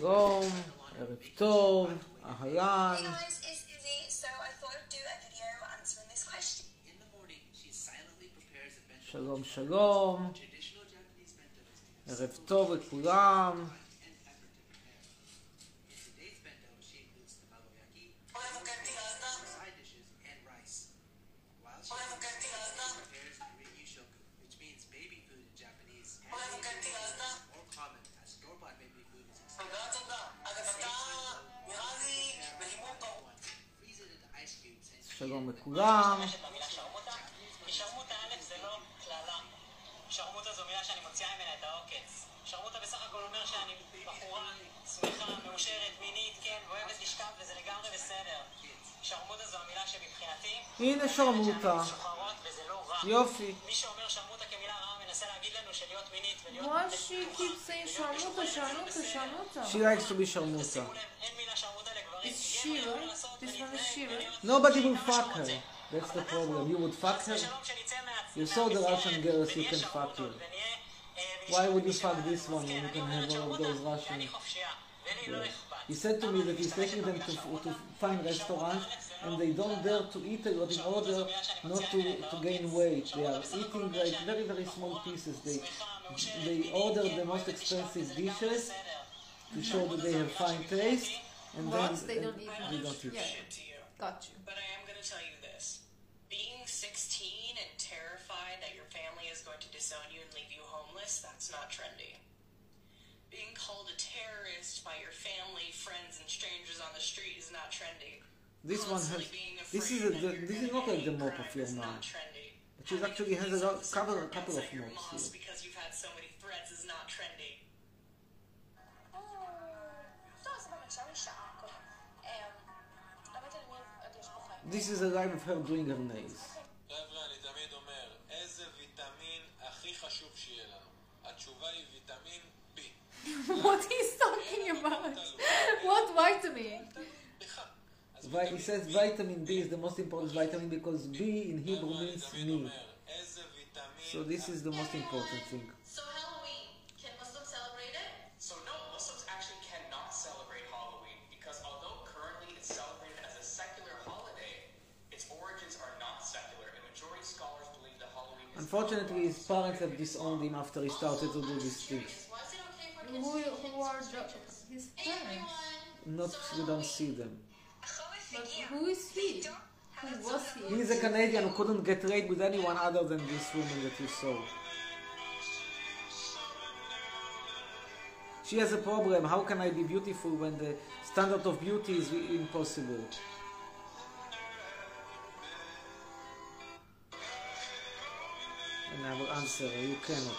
שלום, ערב טוב, אהלן. שלום שלום, ערב טוב לכולם. שלום לכולם. שרמוטה א' זה לא כללה. שרמוטה זו מילה שאני מוציאה ממנה את העוקץ. שרמוטה בסך הכל אומר שאני בחורה שמחה, מאושרת, מינית, כן, ואוהבת לשכב וזה לגמרי בסדר. שרמוטה זו המילה שמבחינתי הנה שרמוטה. משוחררות וזה לא רע. יופי. מי שאומר שרמוטה כמילה רעה מנסה להגיד לנו שלהיות מינית ולהיות... Why she keeps saying שרמוטה, שרמוטה, שרמוטה? She likes to be שרמוטה. שימו לב, אין מילה שרמוטה לגברים. Is she right? This one is she right? Nobody will fuck her. That's the problem. You would fuck her? You saw the Russian girls, you can fuck her. Why would you fuck this one when you can have all of those Russian? Yeah. He said to me that he's taking them to fine restaurants and they don't dare to eat a lot in order not to gain weight. They are eating like very, very small pieces. They order the most expensive dishes to show that they have fine taste and then They don't eat. they don't eat. Yeah, got you. But I am going to tell you this. Being 16 and terrified that your family is going to disown you and leave you homeless, that's not trendy. Being called a terrorist by your family, friends, and strangers on the street is not trendy. This one has. This is not like the mop of your mom. But she actually has a couple of mops here. Because you've had so many threats is not trendy. This is a live of her doing her nails. חבר'ה, אני תמיד אומר, איזה ויטמין הכי חשוב שיהיה לנו? התשובה היא ויטמין B. What he's talking about? What vitamin? He says vitamin B is the most important vitamin because B in Hebrew means me. So this is the most important thing. So Halloween, can Muslims celebrate it? So no, Muslims actually cannot celebrate Halloween because although currently it's celebrated as a secular holiday, its origins are not secular and majority scholars believe that Halloween is... Unfortunately, his parents have disowned him after he started to do these things. Why is it okay for kids Who are his parents? Not, you don't see them. But who is he? Who was he? He is a Canadian who couldn't get raped with anyone other than this woman that you saw. She has a problem. How can I be beautiful when the standard of beauty is impossible? And I will answer her, you cannot.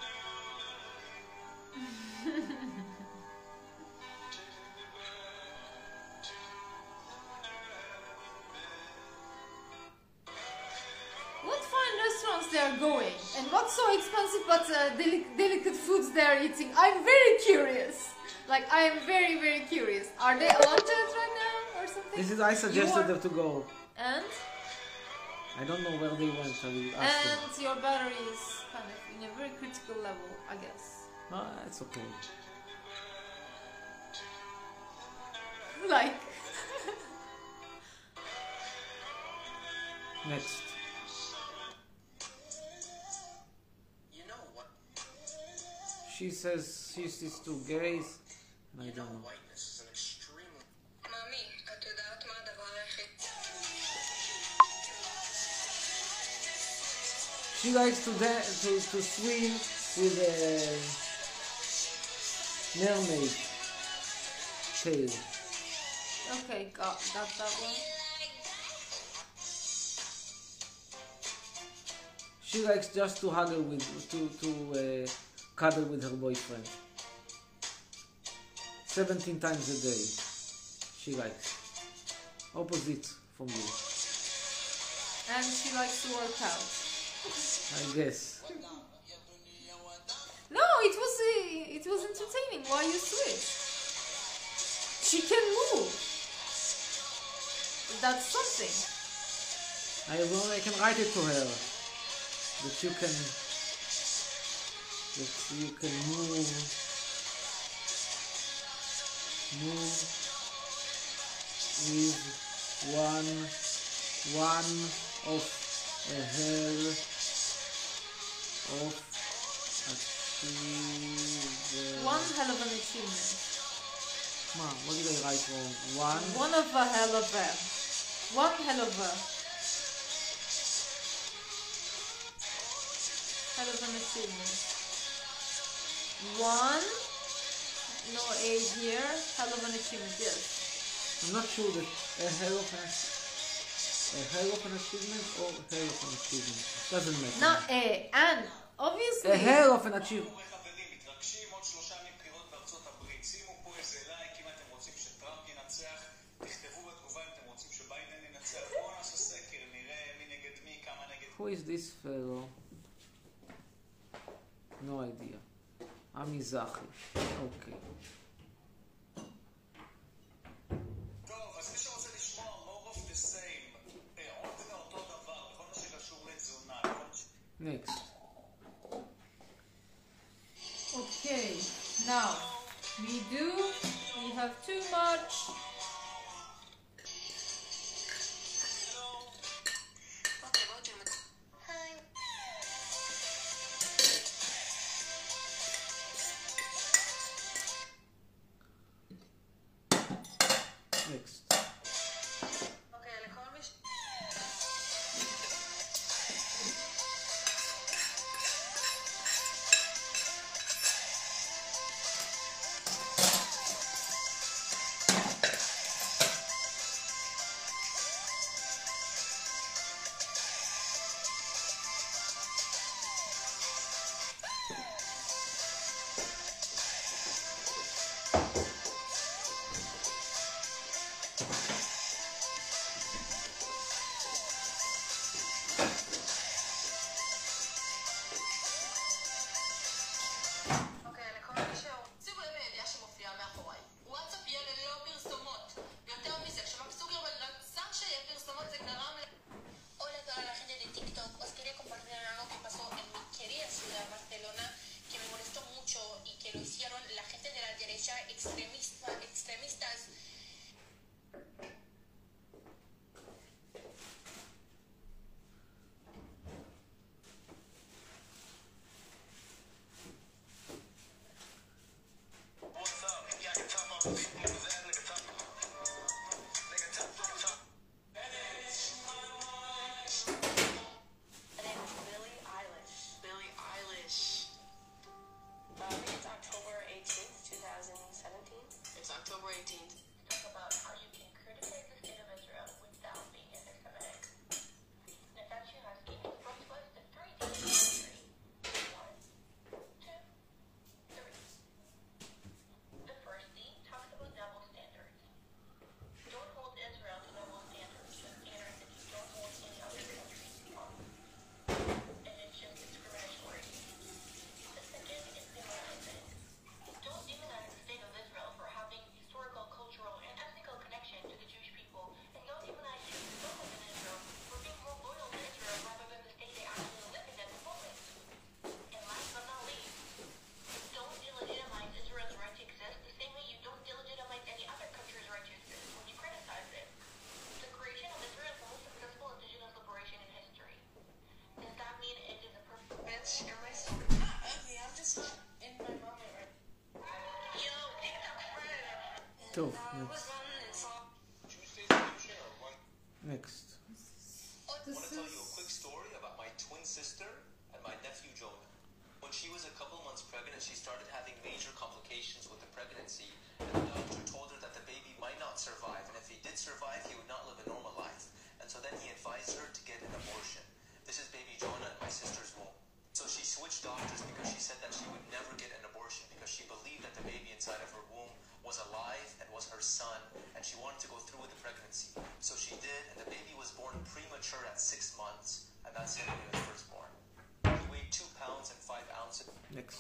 What fine restaurants they are going? And what's so expensive but delicate foods they are eating? I'm very curious. Like, I am very, very curious. Are they allowed to it right now or something? This is I suggested them to go. And? I don't know where they went. I will ask them. And your battery is kind of in a very critical level, I guess. It's okay. Like... Next. You know what? She says she sees two gays. I don't know. Whiteness is an extreme... מאמי, את יודעת מה הדבר היחיד? She likes to swim with a mermaid tail. Okay, got that one. She likes just to huggle with cuddle with her boyfriend. 17 times a day. She likes. Opposite from you. And she likes to work out. I guess. No, it was entertaining. Why you switch? She can move. That's something. I can write it to her. That you can move Move is one of a hair of achievement. One hell of an achievement. What did I write wrong? One of a hell of a. One hell of a. Hell of an achievement. One. No A here. Hell of an achievement, yes. I'm not sure that a hell of an achievement or hell of an achievement. Doesn't matter. Not A. And obviously. A hell of an achievement. חברים, מתרגשים עוד 3 ימים בחירות בארצות הברית. שימו פה איזה לייק אם אתם רוצים שטראמפ ינצח. תכתבו בתגובה אם אתם רוצים שביידן ינצח. בואו נעשה סקר, נראה מי נגד מי, כמה נגד... Who is this fellow? No idea. המזרחי. אוקיי. טוב, אז מי שרוצה לשמוע more of the same, עוד מאותו דבר, בכל מה שקשור לתזונה, Next. Okay. Now. We have too much. אוקיי, בואו תלמד. היי. Next. אוקיי, לכל מי ש... אוקיי, לכל מי שימו לב לידיעה שמופיעה מאחוריי. וואטסאפ יהיה ללא פרסומות. יותר מזה, כשמרק צוקרברג רצה שיהיה פרסומות זה גרם ל... Hola a toda la gente de TikTok. Os quería compartir algo que pasó en mi querida ciudad, Barcelona, que me molestó mucho y que lo hicieron la gente de la derecha extremistas. What's up? Yeah, I can tell my people is that nigga top. Nigga top. Her name is Billie Eilish. Billie Eilish. I think it's October 18th, 2017. It's October 18th. Talk about how you can criticize the state of Israel without being anti-Semitic. Natasha Husky first was the 3 things in history. 1, 2, 3. The first theme talks about double standards. Don't hold Israel to double standards, the standards that you don't hold any other countries on. And it's just discriminatory. The second is demonizing. Don't demonize the state of Israel for having historical, cultural, and ethnical connection to the Jewish people, and don't demonize Jews who don't live in Israel for being more loyal to Israel rather than the state they actually live in at the moment. And last but not least, don't delegitimize Israel's right to exist the same way you don't delegitimize any other country's right to exist when you criticize it. The creation of Israel is the most successful indigenous liberation in history. Does that mean it is a perfect bitch? Am I so not ugly? I'm just not in my moment right Yo, TikTok friend. טוב, I was next. running and saw Tuesday's solution or one? Next. I want to tell you a quick story about my twin sister and my nephew Jonah. When she was a couple months pregnant, she started having major complications with the pregnancy, and the doctor told her that the baby might not survive, and if he did survive, he would not live a normal life. And so then he advised her to get an abortion. This is baby Jonah in my sister's womb. So she switched doctors because she said that she would never get an abortion because she believed that the baby inside of her womb was alive and was her son, and she wanted to go through with the pregnancy. So she did, and the baby was born premature at 6 months, and that's it when he was first born. He weighed 2 pounds and 5 ounces. Next.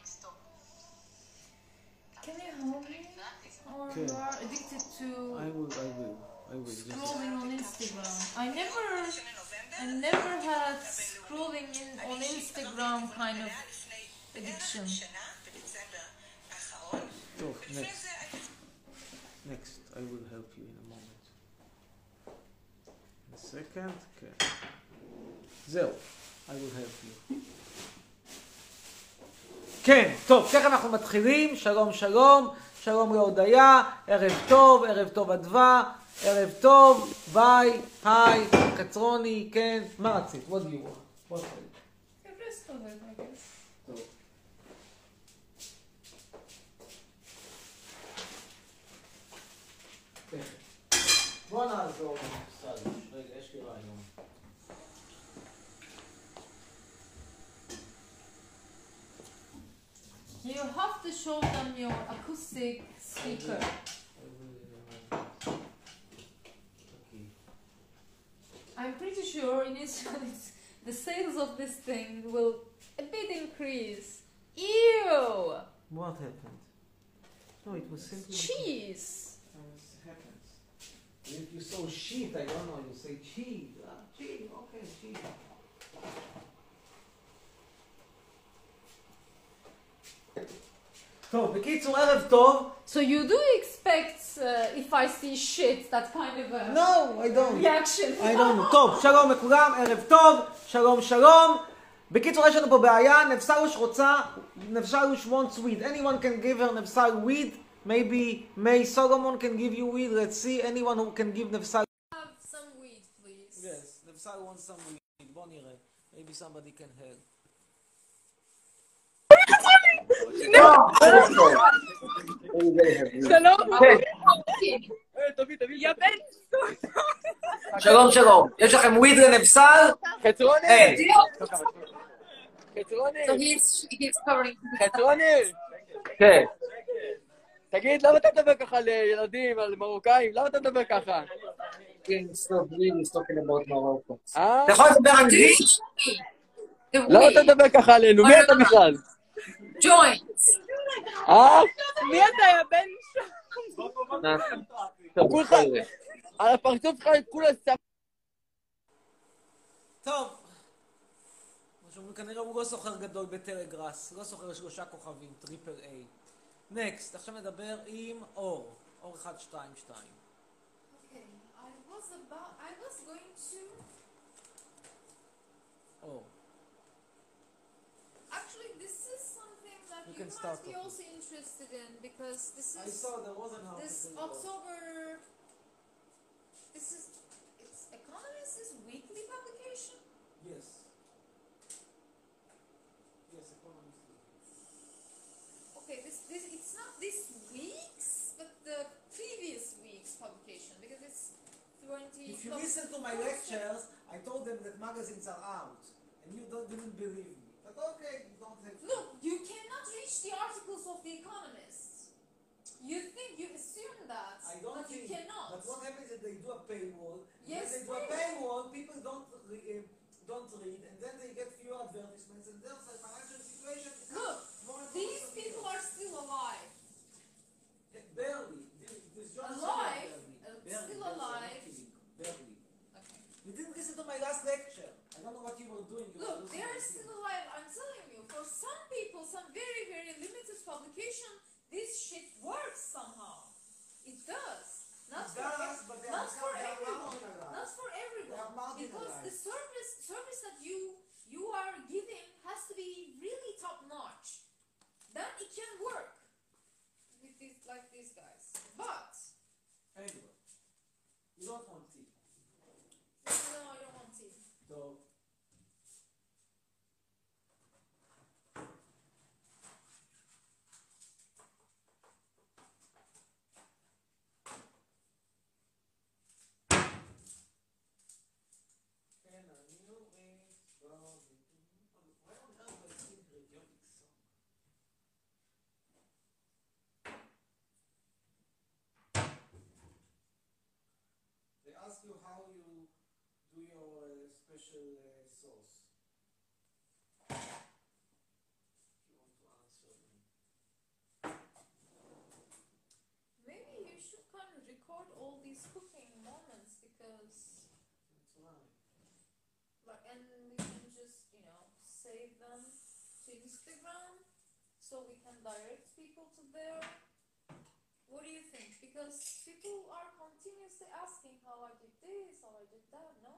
Can you help me? Or Okay. you are addicted to I will. Just scrolling on Instagram? I never had scrolling on Instagram kind of addiction. טוב, next. Next, I will help you in a moment. A second, כן. זהו, I will help you. כן, טוב, ככה אנחנו מתחילים. שלום, שלום, שלום להודיה, ערב טוב אדווה, ערב טוב, ביי, היי, קצרוני, כן, מה רצית? What do you want? What do you want? The rest of it, I guess. טוב. בוא נעזור לסלוש. רגע, יש לי רעיון. You have to show them your acoustic speaker. Okay. I'm pretty sure in Israel the sales of this thing will a bit increase. Ew! What happened? No, it was simply... Cheese! It happens. If you saw sheet, I don't know, you say cheese. Cheese, okay, cheese. טוב, בקיצור, ערב טוב. So you do expect if I see shit that kind of a No, I don't. reaction? I don't. טוב, שלום לכולם, ערב טוב, שלום שלום. בקיצור, יש לנו פה בעיה, נבסלוש רוצה, נבסלוש wants weed. Anyone can give her נבסל weed? Maybe May Solomon can give you weed. Let's see, anyone who can give נבסל... Have some weed, please. Yes, נבסל wants some weed. בוא נראה. Maybe somebody can help. שלום שלום, יש לכם וויד לנבסל? חצרוני! אין. חצרוני! So he's covering. חצרוני! כן. תגיד, למה אתה מדבר ככה לילדים, על מרוקאים? למה אתה מדבר ככה? אתה יכול לדבר אנגלית? למה אתה מדבר ככה עלינו? מי אתה בכלל? Joints. מי אתה, יא בן שם? כולך, על הפרצוף שלך כולה סתם. טוב. כנראה הוא לא סוחר גדול בטלגראס, לא סוחר 3 כוכבים, טריפל איי. נקסט, עכשיו נדבר עם אור. אור 1, 2, 2. Okay, I was going to... אור. Actually, this is something that You you, can start might be talking. also interested in because this I is saw there was an article. this October. This is it's Economist is weekly publication. Yes. Yes, Economist. Okay, this it's not this week's, but the previous week's publication because it's 20. If you listen to my lectures, I told them that magazines are out, and you didn't believe me. But okay, you don't have to. Look, you cannot reach the articles of the Economist. You assume that, I don't but think. you cannot. But what happens is they do a paywall. Yes, When they do a paywall, people don't read, and then they get fewer advertisements, and their financial situation is Look, more and these more people are still alive. barely. This John Alive? Barely. Still Barely. alive? Barely. Okay. You didn't listen to my last lecture. I don't know what you were doing. You were Look, listening they are to still me. alive. I'm telling you, for some people, some very, very limited publication, this shit works somehow. It does. Not It for does, but they not are for they are everyone. marginalized. Not for They everyone. are Because the marginalized. service that you are giving has to be really top notch. Then it can work with this like these guys. But Anyway, you don't want tea. no, I don't want tea. So, and a new age goes into... Why on earth do I sing patriotic song? They ask you how you do your special sauce. If you want to answer me. Maybe you should kind of record all these cooking moments because That's right. like and we can just, save them to Instagram so we can direct people to there. What do you think? Because people are continuously asking how I did this, how I did that, no?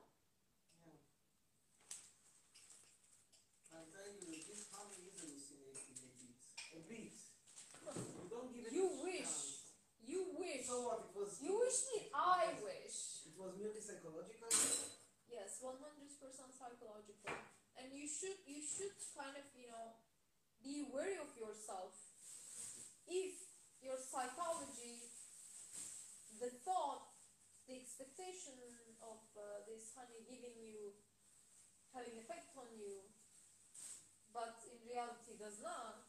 I'm telling you, this honey is hallucinating a bit. A bit. You don't give it You a wish. chance. You wish. So what? It was. You wish me. I wish. It was merely psychological. Yes, 100% psychological. And you should kind of, be wary of yourself. If your psychology, the thought, the expectation of this honey having effect on you, but in reality does not,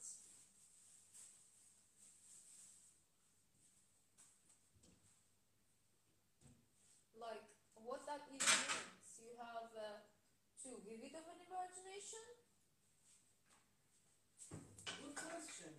like, what that even means. You have too vivid of an imagination? Good question.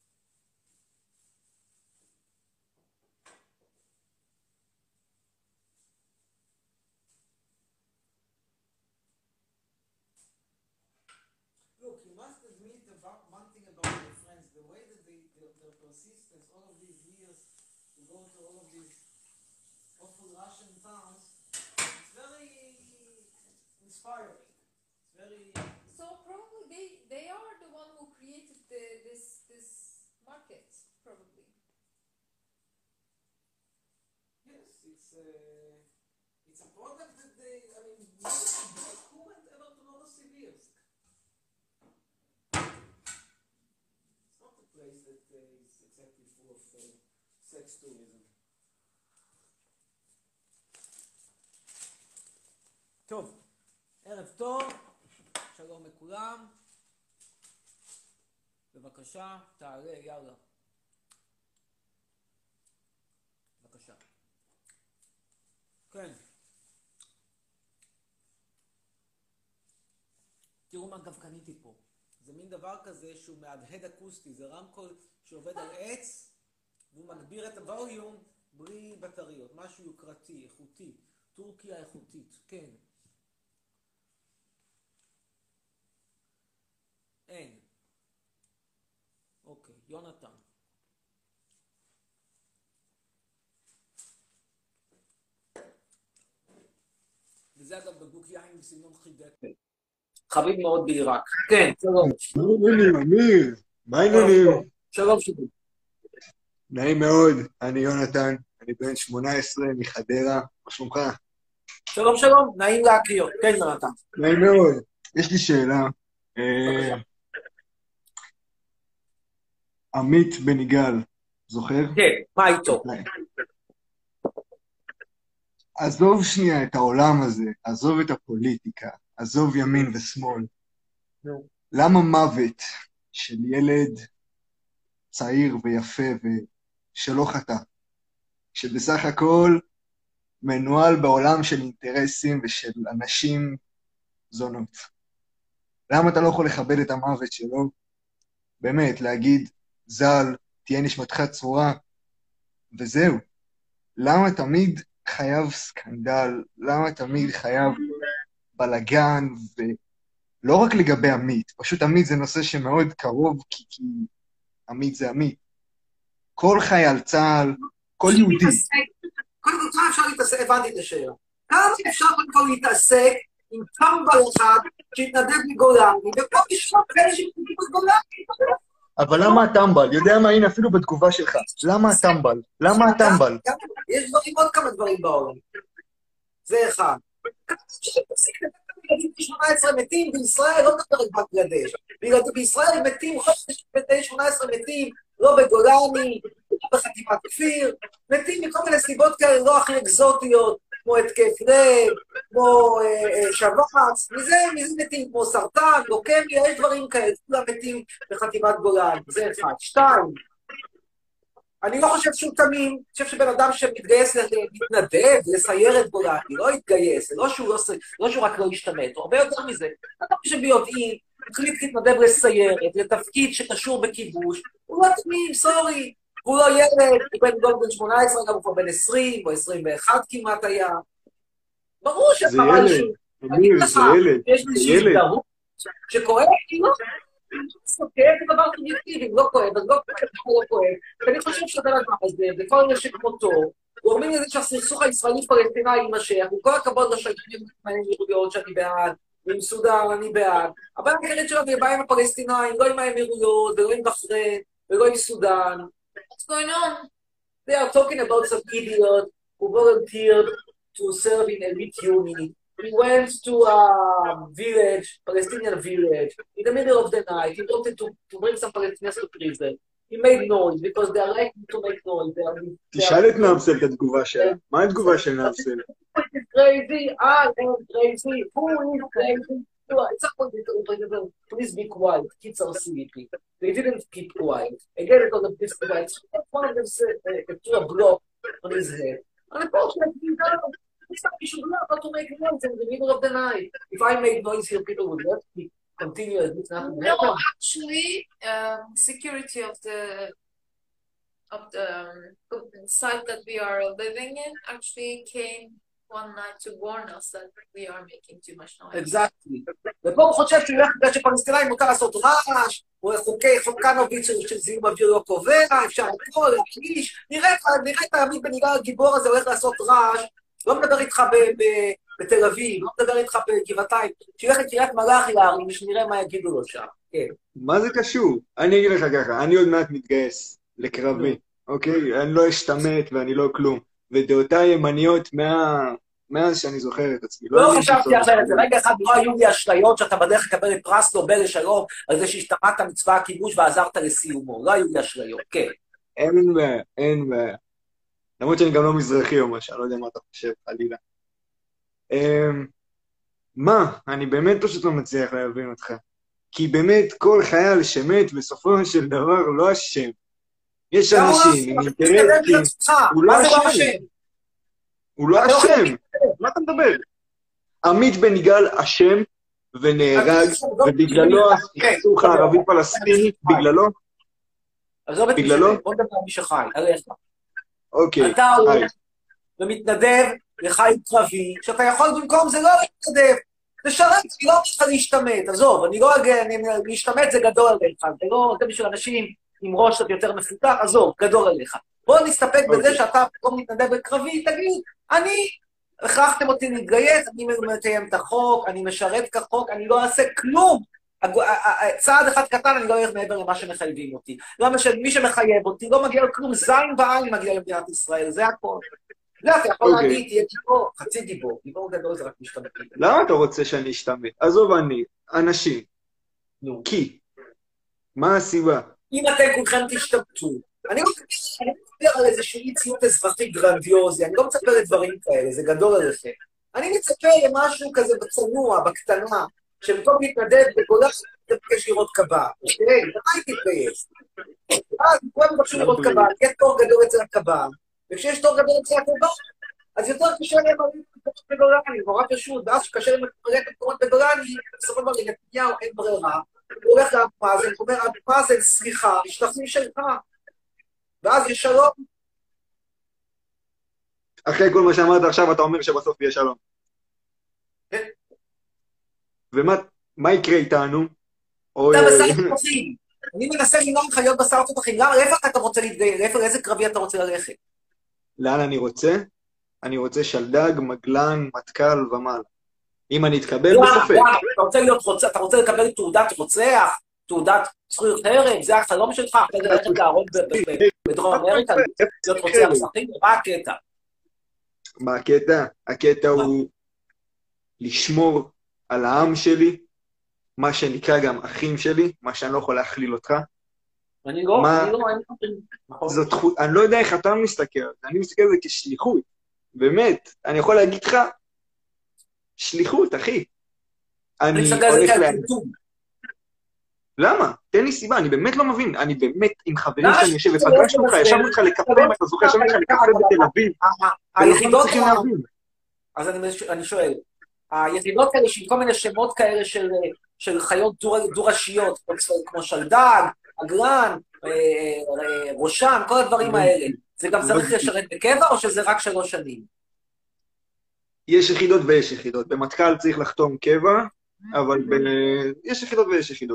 Look, you must admit about one thing about your friends, the way that their persistence all of these years to go to all of these awful Russian towns, it's very inspiring. It's very... So probably they are the one who created this market, probably. Yes, it's a product that they, I mean, who went ever to Novosibirsk? It's not a place that is exactly full of sex tourism. טוב, ערב טוב, שלום לכולם. בבקשה, תעלה, יאללה. בבקשה. כן. תראו מה גם קניתי פה. זה מין דבר כזה שהוא מהדהד אקוסטי, זה רמקול שעובד על עץ, והוא מגביר את הווליום בלי בטריות, משהו יוקרתי, איכותי, טורקיה איכותית, כן. אין. אוקיי, יונתן. וזה אגב בקבוק יין בסגנון חידק. חביב מאוד בעיראק. כן, שלום. מה העניינים, אמיר? מה העניינים? שלום שלום. נעים מאוד, אני יונתן, אני בן 18 מחדרה, מה שלומך? שלום שלום, נעים להכיר. כן, יונתן. נעים מאוד. יש לי שאלה. עמית בן יגאל, זוכר? כן, מה איתו? עזוב שנייה את העולם הזה, עזוב את הפוליטיקה, עזוב ימין ושמאל. למה מוות של ילד צעיר ויפה ושלא חטא, שבסך הכל מנוהל בעולם של אינטרסים ושל אנשים זונות? למה אתה לא יכול לכבד את המוות שלו? באמת, להגיד, זל, תהיה נשמתך צרורה, וזהו. למה תמיד חייב סקנדל? למה תמיד חייב בלגן? ולא רק לגבי עמית, פשוט עמית זה נושא שמאוד קרוב, כי עמית זה עמית. כל חייל צה"ל, כל יהודי. קודם כל, כמה אפשר להתעסק, הבנתי את השאלה. כמה אפשר קודם להתעסק עם טמבל אחד שהתנדב מגולני, ופה לשמוע כאלה שהתנדב מגולני. אבל למה הטמבל? יודע מה, הנה אפילו בתגובה שלך. למה הטמבל? למה הטמבל? יש דברים, עוד כמה דברים בעולם. זה אחד. כמה שתפסיק ילדים 18 מתים בישראל, לא נדבר רק בנגלדש. בגלל בישראל מתים, 18 מתים, לא בגולני, לא בחטיבת כפיר, מתים מכל מיני סיבות כאלה לא הכי אקזוטיות, כמו התקף לב, כמו שבץ, מזה מתים, כמו סרטן, לוקמיה, יש דברים כאלה, כולם מתים בחטיבת גולני, זה אחד. שתיים, אני לא חושב שהוא תמים, אני חושב שבן אדם שמתגייס להתנדב, לסייר את גולני, לא יתגייס, זה לא שהוא רק לא ישתמט, הוא הרבה יותר מזה. אדם שביודעין, החליט להתנדב לסיירת, לתפקיד שקשור בכיבוש, הוא לא תמים, סורי, הוא לא ילד, הוא בן 18, גם הוא כבר בן 20 או 21 כמעט היה. ברור שחבל שהוא. אמיר, זה ילד, יש לי שהזדהות שקורה, כאילו, כאב זה דבר סובייקטיבי, לא כואב, אז לא כואב. ואני חושב שזה הדבר הזה, וכל אלה שכמותו, גורמים לזה שהסכסוך הישראלי-פלסטיני יימשך, עם כל הכבוד לשלטונים מהאמירויות שאני בעד, ועם סודן אני בעד. הבעיה העיקרית שלנו היא הבעיה עם הפלסטינאים, לא עם האמירויות, ולא עם בחריין, ולא עם סודן. What's going on? They are talking about some idiot who volunteered to serve in elite unit. He went to a village, Palestinian village, in the middle of the night. He wanted to bring some Palestinians to prison. He made noise because they are liking to make noise. תשאל את נאבסל את התגובה שלה. מה התגובה של נאבסל? It's crazy. I am crazy. Who is crazy? It's not political. Please be quiet. Kids are sleeping. They didn't keep quiet. Again, because of this quiet. One of them said, threw a block on his head. And unfortunately, he should learn how to make noise in the middle of the night. If I made noise here, people would let me continue as if nothing No, happened. actually, security of the site that we are living in actually came one night to warn us that we are making too much noise. Exactly. ופה הוא חושב שהוא ילך בגלל שפלסטינאים מותר לעשות רעש, או חוקנוביץ' של זיהום אוויר לא קובע, אפשר לקרוא, להכניש. נראה את העמית בניגר הגיבור הזה הולך לעשות רעש, לא מדבר איתך בתל אביב, לא מדבר איתך בגבעתיים, שילך לקריית מלאכי להרים, ושנראה מה יגידו לו שם. כן. מה זה קשור? אני אגיד לך ככה, אני עוד מעט מתגייס לקרבי, אוקיי? אני לא אשתמט ואני לא כלום. ודעותיי ימניות מאז שאני זוכר את עצמי. לא חשבתי אחרת, זה רגע אחד לא היו לי אשליות שאתה בדרך לקבל את פרס נובל לשלום על זה שהשתמעת מצבא הכיבוש ועזרת לסיומו. לא היו לי אשליות, כן. אין בעיה, אין בעיה. למרות שאני גם לא מזרחי או משהו, לא יודע מה אתה חושב, חלילה. מה? אני באמת פשוט לא מצליח להבין אותך. כי באמת כל חייל שמת בסופו של דבר לא אשם. יש אנשים עם אינטרסים, הוא לא אשם. הוא לא אשם. מה אתה מדבר? עמית בן יגאל אשם ונהרג, ובגללו הסכסוך הערבי-פלסטיני, בגללו? בגללו? בוא נדבר על מי שחי, עליך. אוקיי. אתה הולך ומתנדב לחיים קרבי, שאתה יכול במקום זה לא להתנדב. לשרת, אני לא אומר לך להשתמט, עזוב, להשתמט זה גדול עליך, זה לא, זה בשביל אנשים עם ראש קצת יותר מפותח, עזוב, גדול עליך. בוא נסתפק בזה שאתה פתאום מתנדב בקרבי, תגיד, הכרחתם אותי להתגייס, אני מקיים את החוק, אני משרת כחוק, אני לא אעשה כלום. צעד אחד קטן, אני לא אלך מעבר למה שמחייבים אותי. למה שמי שמחייב אותי לא מגיע לכלום, זין בעין מגיע למדינת ישראל, זה הכל. לא, אתה יכול להגיד, תהיה גיבור, חצי גיבור, גיבור גדול זה רק משתמט. למה אתה רוצה שאני אשתמט? עזוב אני, אנשים. כי. מה הסיבה? אם אתם כולכם תשתמטו, אני לא מדבר על איזשהו אי-ציות אזרחי גרנדיוזי, אני לא מצפה לדברים כאלה, זה גדול עליכם. אני מצפה למשהו כזה בצנוע, בקטנה, שבמקום להתנדב בגולן, תבקש לראות קב"א. אוקיי, מתי תתגייס? אז כולם מבקשו לראות קב"א, יהיה תור גדול אצל הקב"א, וכשיש תור גדול אצל הקב"א, אז יותר קשה להם להביא את המקומות בגולני, נורא פשוט, ואז שקשה להם להביא את המקומות בגולני, בסופו של דבר לנתניהו אין ברירה, הוא הולך לאבו מאזן, הוא אומר, אבו מאזן, סליחה, השתכנעים שלך, ואז יש שלום. אחרי כל מה שאמרת עכשיו, אתה אומר שבסוף יהיה שלום. כן. ומה יקרה איתנו? אתה בשר תותחים. אני מנסה לנהוג לך להיות בשר תותחים. למה? איפה אתה רוצה להתגייר? לאיזה קרבי אתה רוצה ללכת? לאן אני רוצה? אני רוצה שלדג, מגלן, מטכ"ל ומעלה. אם אני אתקבל בספק. אתה רוצה לקבל תעודת רוצח? תעודת זכויות הרג? זה החלום שלך? אתה יודע ללכת להרוג בדרום אמריקה? להיות רוצח שחים? מה הקטע? מה הקטע? הקטע הוא לשמור על העם שלי, מה שנקרא גם אחים שלי, מה שאני לא יכול להכליל אותך. אני לא, אני לא יודע איך אתה מסתכל, אני מסתכל על זה כשליחות, באמת, אני יכול להגיד לך, שליחות, אחי. אני הולך להגיד. למה? תן לי סיבה, אני באמת לא מבין, אני באמת עם חברים שאני יושב, ופגשנו אותך, ישבנו אותך לקפה, אם אתה זוכר, ישבנו אותך לקפה בתל אביב. היחידות אז אני שואל, היחידות האלה של כל מיני שמות כאלה של חיות דו-ראשיות, כמו שלדג, אגרן, ראשן, כל הדברים האלה, זה גם צריך לשרת בקבע או שזה רק 3 שנים? יש יחידות ויש יחידות. במטכ"ל צריך לחתום קבע, אבל יש יחידות ויש יחידות.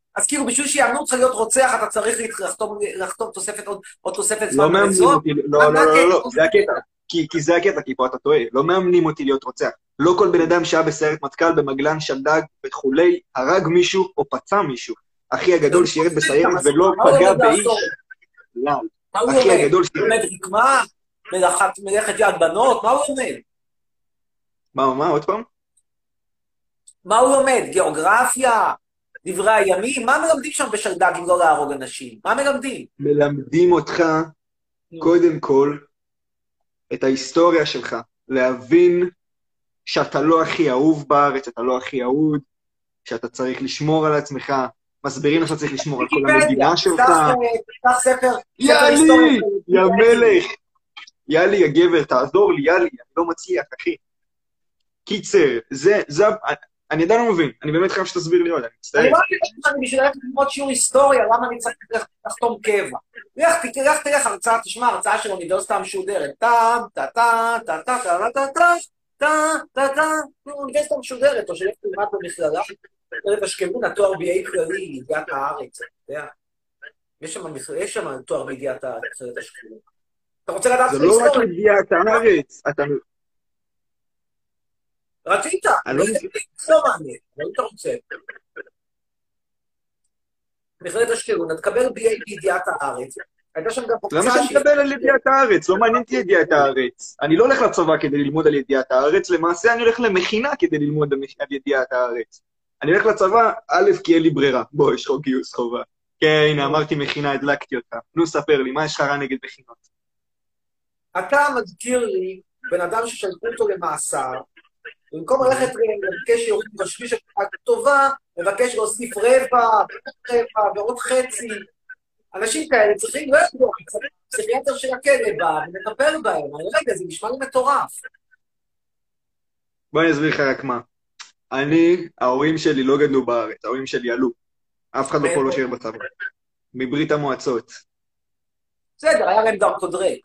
אז כאילו בשביל שיאמנו אותך להיות רוצח, אתה צריך לחתום תוספת, עוד תוספת זמן לא מאמנים בנזון? אותי, לא, זה הקטע. כי זה הקטע, כי פה אתה טועה. לא מאמנים אותי להיות רוצח. לא כל בן אדם שהיה בסיירת מטכ"ל, במגלן, שלדג וכולי, הרג מישהו או פצע מישהו. אחי הגדול שירת בסיירת ולא פגע באיש. אחי הגדול שירת. הוא לומד רקמה, מלאכת יד בנות, מה הוא לומד? מה, עוד פעם? מה הוא לומד? גיאוגרפיה? דברי הימים? מה מלמדים שם בשלדג אם לא להרוג אנשים? מה מלמדים? מלמדים אותך, קודם כל, את ההיסטוריה שלך. להבין שאתה לא הכי אהוב בארץ, אתה לא הכי אהוד, שאתה צריך לשמור על עצמך, מסבירים לך צריך לשמור על כל המדינה שלך. תפתח ספר. יאללי, יא מלך. יאללי, הגבר, תעזור לי, יאללי, אני לא מצליח, אחי. קיצר, אני עדיין לא מבין, אני באמת חייב שתסביר לי עוד, אני מצטער. אני לא מבין שאני בשביל ללכת ללמוד שיעור היסטוריה, למה אני צריך לחתום קבע? תלך הרצאה, תשמע, הרצאה של אוניברסיטה המשודרת. טם, טה-טה, טה-טה, טה-טה, טה-טה, אוניברסיטה המשודרת, או שלך תלמד במכללה, תלך אשכנזי, התואר BA כללי, ידיעת הארץ, אתה יודע. יש שם תואר בידיעת הארץ, אשכנזי. אתה רוצה לדעת זה לא רק ידיעת הארץ, אתה... רצית, לא מעניין, לא אתה רוצה. מכללת אשקלון, תקבל BA בידיעת הארץ, הייתה שם גם למה שאני אקבל על ידיעת הארץ? לא מעניין אותי ידיעת הארץ. אני לא הולך לצבא כדי ללמוד על ידיעת הארץ, למעשה אני הולך למכינה כדי ללמוד על ידיעת הארץ. אני הולך לצבא, א', כי אין לי ברירה. בוא, יש חוק גיוס חובה. כן, הנה, אמרתי מכינה, הדלקתי אותה. נו, ספר לי, מה יש לך רע נגד מכינות? אתה מזכיר לי בן אדם ששלחו אותו למאסר, במקום ללכת לבקש יוריד בשביש טובה, מבקש להוסיף רבע ועוד חצי. אנשים כאלה צריכים, לא ידעו, פסיכיאטר של הכלא בא ומטפל בהם. אני רגע, זה נשמע לי מטורף. בוא אני אסביר לך רק מה. ההורים שלי לא גדלו בארץ, ההורים שלי עלו. אף אחד לא פה לא שיר בצבא. מברית המועצות. בסדר, היה להם דרכודרק.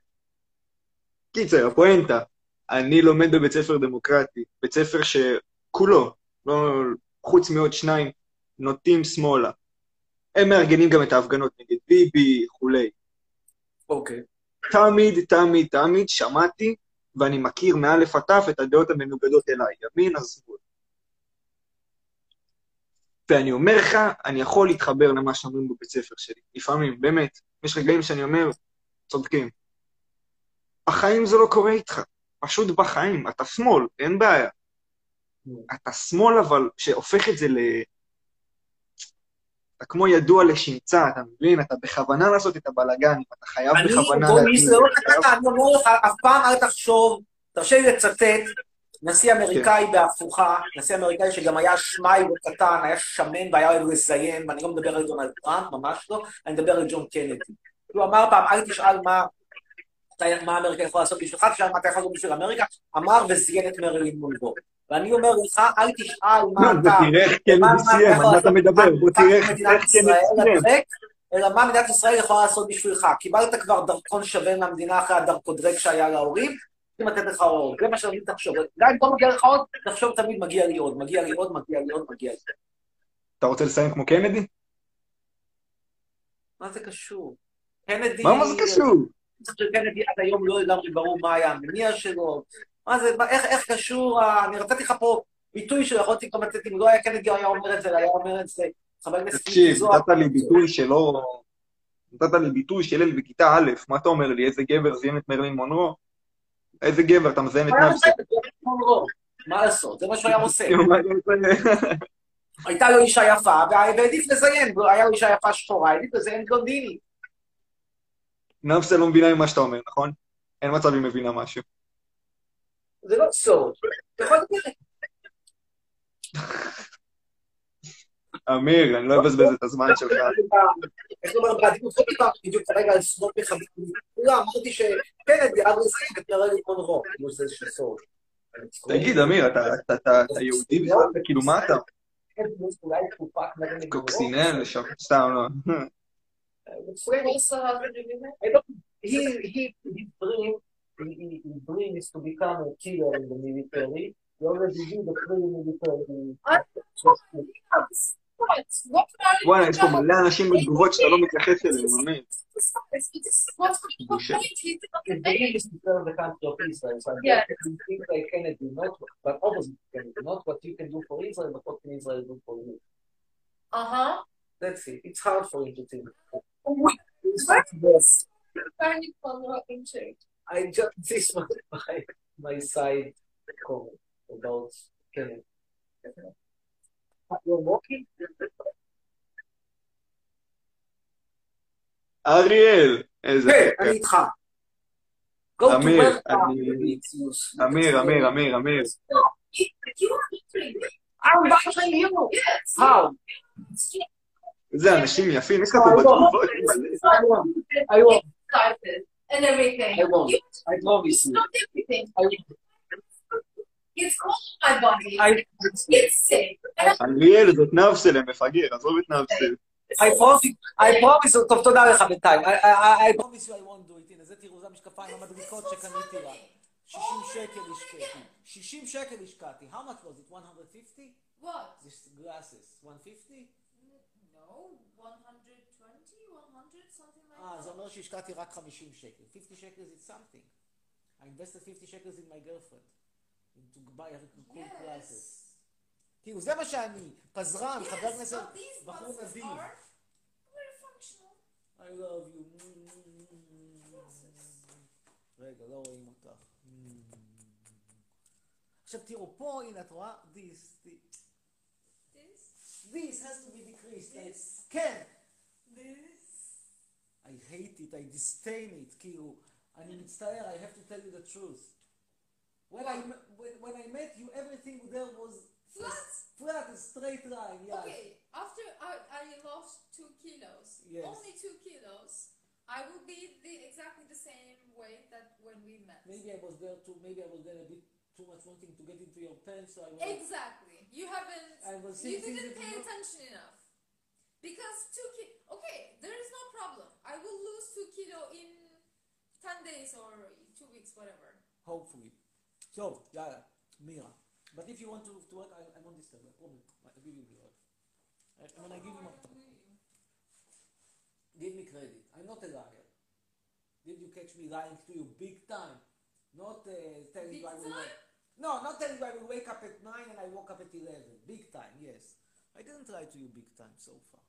קיצר, הפואנטה. אני לומד בבית ספר דמוקרטי, בית ספר שכולו, לא, חוץ מעוד שניים, נוטים שמאלה. הם מארגנים גם את ההפגנות נגד ביבי, כולי. אוקיי. תמיד שמעתי, ואני מכיר מאלף עד תף את הדעות המנוגדות אליי, ימין, השמאל. ואני אומר לך, אני יכול להתחבר למה שאומרים בבית ספר שלי. לפעמים, באמת, יש רגעים שאני אומר, צודקים. החיים זה לא קורה איתך. פשוט בחיים, אתה שמאל, אין בעיה. אתה שמאל, אבל שהופך את זה אתה כמו ידוע לשמצה, אתה מבין? אתה בכוונה לעשות את הבלגן, אתה חייב בכוונה... אני אומר לך, אף פעם אל תחשוב, תרשה לי לצטט, נשיא אמריקאי בהפוכה, נשיא אמריקאי שגם היה שמאי וקטן, היה שמן והיה אוהב לזיין, ואני לא מדבר על דונלד טראמפ, ממש לא, אני מדבר על ג'ון קנדי. הוא אמר פעם, אל תשאל מה אמריקה יכולה לעשות בשבילך, תשאל מה אתה יכול לעשות בשביל אמריקה, אמר וזיין את מרילין מונרו. ואני אומר לך, אל תשאל מה אתה... תראה איך קנדי סיים, על מה אתה מדבר, בוא תראה איך קנדי סיים. אלא מה מדינת ישראל יכולה לעשות בשבילך. קיבלת כבר דרכון שווה מהמדינה אחרי הדרכודרק שהיה להורים, אם לתת לך עוד, זה מה שאני תחשוב. גם אם לא מגיע לך עוד, תחשוב תמיד מגיע לי עוד, מגיע לי עוד, מגיע לי עוד, מגיע לי. אתה רוצה לסיים כמו קנדי? מה זה קשור? קנדי... מה זה קשור? קנדי עד היום לא לגמרי ברור מה היה המניע שלו. מה זה, איך קשור, אני רציתי לך פה ביטוי שלו, יכולתי גם לתת, אם לא היה קנדי היה אומר את זה, היה אומר את זה, חבר הכנסת... תקשיב, נתת לי ביטוי שלא... נתת לי ביטוי של ילד בכיתה א', מה אתה אומר לי? איזה גבר זיין את מרלין מונרו? איזה גבר, אתה מזיין את נפסו? מה לעשות? זה מה שהוא היה עושה. הייתה לו אישה יפה, והעדיף לזיין, היה לו אישה יפה שחורה, העדיף לזיין בלונדיני. נפסה לא מבינה ממה שאתה אומר, נכון? אין מצב היא מבינה משהו. זה לא סוד. אתה יכול לדבר. אמיר, אני לא אבזבז את הזמן שלך. איך לומר, בעדינות לא דיברתי בדיוק כרגע על סודות מחדים. לא, אמרתי שקנדי עד לזיין את מרלין מונרו. זה איזשהו סוד. תגיד, אמיר, אתה יהודי בכלל? כאילו, מה אתה? קוקסינל, סתם לא. His dream is to become a killer in the military. He already did the military. וואלה, יש פה מלא אנשים בתגובות שאתה לא מתייחס אליהם, אמן. בושה. the country of Israel. So I think they can do not, but opposite can do not what you can do for Israel, but what can Israel do for you. That's it. It's hard for you to think. I just this was my side comment about Kenneth. You're walking? אריאל, איזה... כן, אני איתך. אמיר, אמיר. I'm watching you. How? איזה אנשים יפים, יש לך פה בתגובות. I won't. And everything. I won't. I promise you. Not everything. I won't. It's cold in my body. It's safe. אריאל, זאת נאבסל, הם מפגר, עזוב את נאבסל. I promise you, טוב, תודה לך בינתיים. I promise you I won't do it. הנה, זה תראו, זה המשקפיים המדריקות שקניתי לה. 60 שקל השקעתי. 60 שקל השקעתי. How much was it? 150? What? These glasses. 150? No, 120, 100, something like that. זה אומר שהשקעתי רק 50 שקל. 50 shekels is something. I invested 50 shekels in my girlfriend. To buy cool glasses. כאילו, זה מה שאני. פזרן, חבר כנסת, בחור נדיב. I love you. רגע, לא רואים אותך. עכשיו תראו, פה, הנה, את רואה? This has to be decreased. כן. I hate it, I disdain it, כאילו, אני מצטער, I have to tell you the truth. When I met you, everything there was flat, a straight line, yeah. Okay, after I lost 2 kilos, yes. Only 2 kilos, I will be exactly the same weight that when we met. Maybe I was there a bit too much wanting to get into your pants, so I was... Exactly. You didn't pay attention enough. Because 2 kilos, okay, there is no problem. I will lose 2 kilo in 10 days or 2 weeks, whatever. Hopefully. So, yalla, Mira. But if you want to work, I won't disturb. I promise. I give you the order. When I give you my... Give me credit. I'm not a liar. Did you catch me lying to you big time? Not telling you I will wake... No, not telling you I will wake up at 9 and I woke up at 11. Big time, yes. I didn't lie to you big time so far.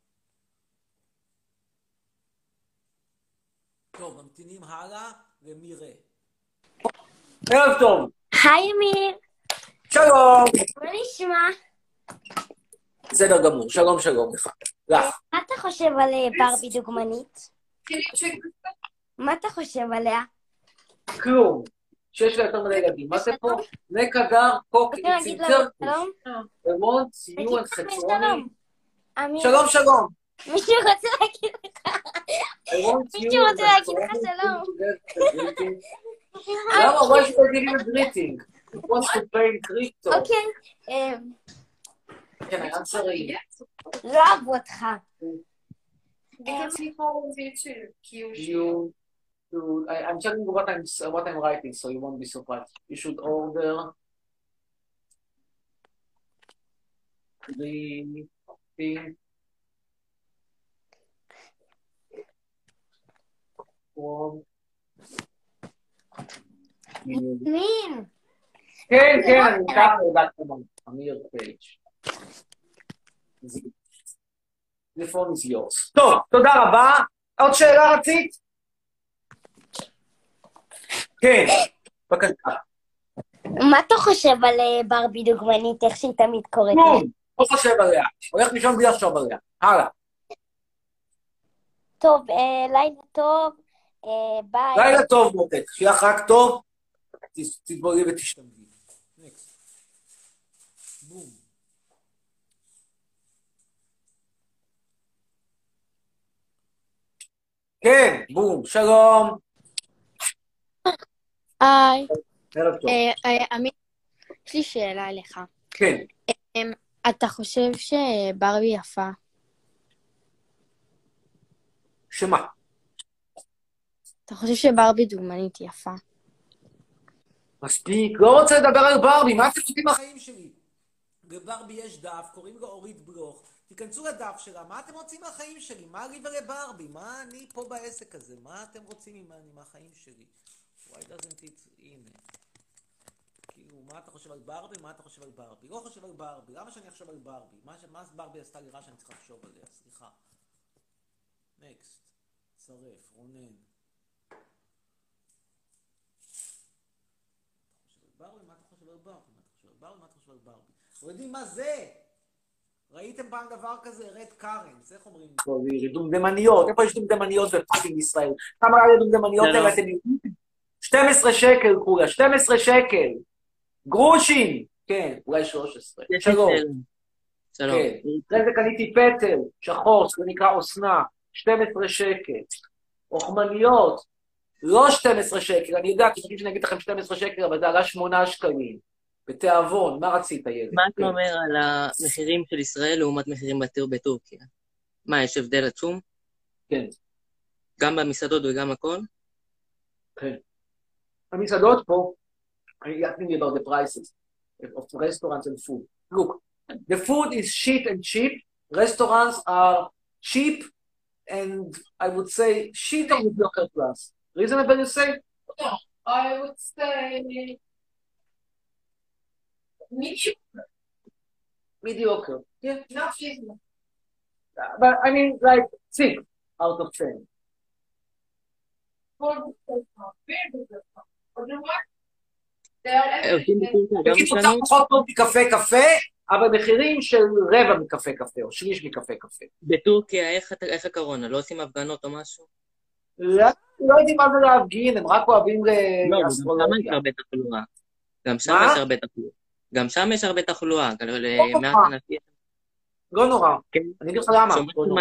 טוב, ממתינים הלאה ומירה. ערב טוב. היי אמיר. שלום. מה נשמע? בסדר גמור, שלום לך. לך. מה אתה חושב על ברבי דוגמנית? מה אתה חושב עליה? כלום. שיש לה יותר מדי ילדים. מה זה פה? נקדר, קוק, צינצר. ומונט, סיון, חצרוני. שלום. מישהו רוצה להגיד לך. מישהו רוצה להגיד לך שלום. למה? why should I give you a greeting? He wants to play in crypto. אוקיי. כן, אני אנסרי. לא אהבו אותך. I'm telling you what I'm writing, so you won't be surprised. You should order the thing from מין. כן, אני ככה יודעת כמובן. אמיר פייג'. The phone is yours. טוב, תודה רבה. עוד שאלה רצית? כן, בבקשה. מה אתה חושב על ברבי דוגמנית, איך שהיא תמיד קוראת? לא חושב עליה. הולך לישון בלי לחשוב עליה. הלאה. טוב, לילה טוב. ביי. לילה טוב, מותק. שיהיה לך רק טוב. תתבורי ותשתמדי. נקסט. בום. כן, בום. שלום. היי. ערב טוב. אמיר, יש לי שאלה אליך. כן. אתה חושב שברבי יפה? שמה? אתה חושב שברבי דוגמנית יפה? מספיק, לא רוצה לדבר על ברבי, מה אתם חושבים מהחיים שלי? בברבי יש דף, קוראים לו אורית בלוך, תיכנסו לדף שלה, מה אתם רוצים מהחיים שלי? מה לי ולברבי? מה אני פה בעסק הזה? מה אתם רוצים ממני מהחיים שלי? Why doesn't it... הנה. כאילו, מה אתה חושב על ברבי? מה אתה חושב על ברבי? לא חושב על ברבי. למה שאני אחשוב על ברבי? מה ברבי עשתה לי רע שאני צריך לחשוב עליה? סליחה. נקסט. צרף. רונן. ברבי, מה אתה חושב על ברבי? מה אתה חושב על ברבי? מה אתה חושב על ברבי? לא יודעים מה זה? ראיתם פעם דבר כזה? רד קרנס, איך אומרים? דומדמניות, איפה יש דומדמניות בפאקינג ישראל? כמה היה דומדמניות האלה אתם יודעים? 12 שקל כולה, 12 שקל. גרושים. כן, אולי 13. שלום. שלום. אחרי זה קניתי פטל, שחור, זה נקרא אוסנה, 12 שקל. אוכמניות, לא 12 שקל, אני יודע, כי שאני אגיד לכם 12 שקל, אבל זה עלה 8 שקלים. בתיאבון, מה רצית ילד? מה אתה אומר על המחירים של ישראל לעומת מחירים בטורקיה? מה, יש הבדל עצום? כן. גם במסעדות וגם הכל? כן. המסעדות פה, I'm asking you about the prices of restaurants and food. Look, the food is cheap and cheap. Restaurants are cheap and I would say cheap on the local class. Reasonable you say? No, I would say mediocre. Mediocre. Yeah. Not reasonable. But I mean like 6 out of 10. For the very good. Otherwise, בקיצור, קצת פחות טוב מקפה קפה, אבל מחירים של רבע מקפה קפה, או שליש מקפה קפה. בטורקיה, איך הקורונה? לא עושים הפגנות או משהו? לא יודעים מה זה להפגין, הם רק אוהבים לאסטרולוגיה. גם שם יש הרבה תחלואה. גם שם יש הרבה תחלואה. לא נורא. אני אגיד לך למה.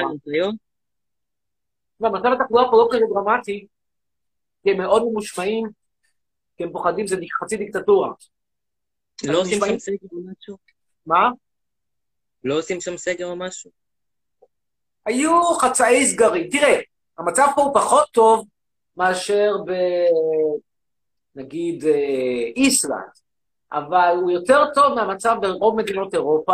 מצב התחלואה פה לא כזה דרמטי, כי הם מאוד ממושמעים, כי הם פוחדים, זה חצי דיקטטורה. לא עושים שם סגר או משהו? מה? לא עושים שם סגר או משהו? היו חצאי סגרים. תראה, המצב פה הוא פחות טוב מאשר נגיד איסלנד, אבל הוא יותר טוב מהמצב ברוב מדינות אירופה.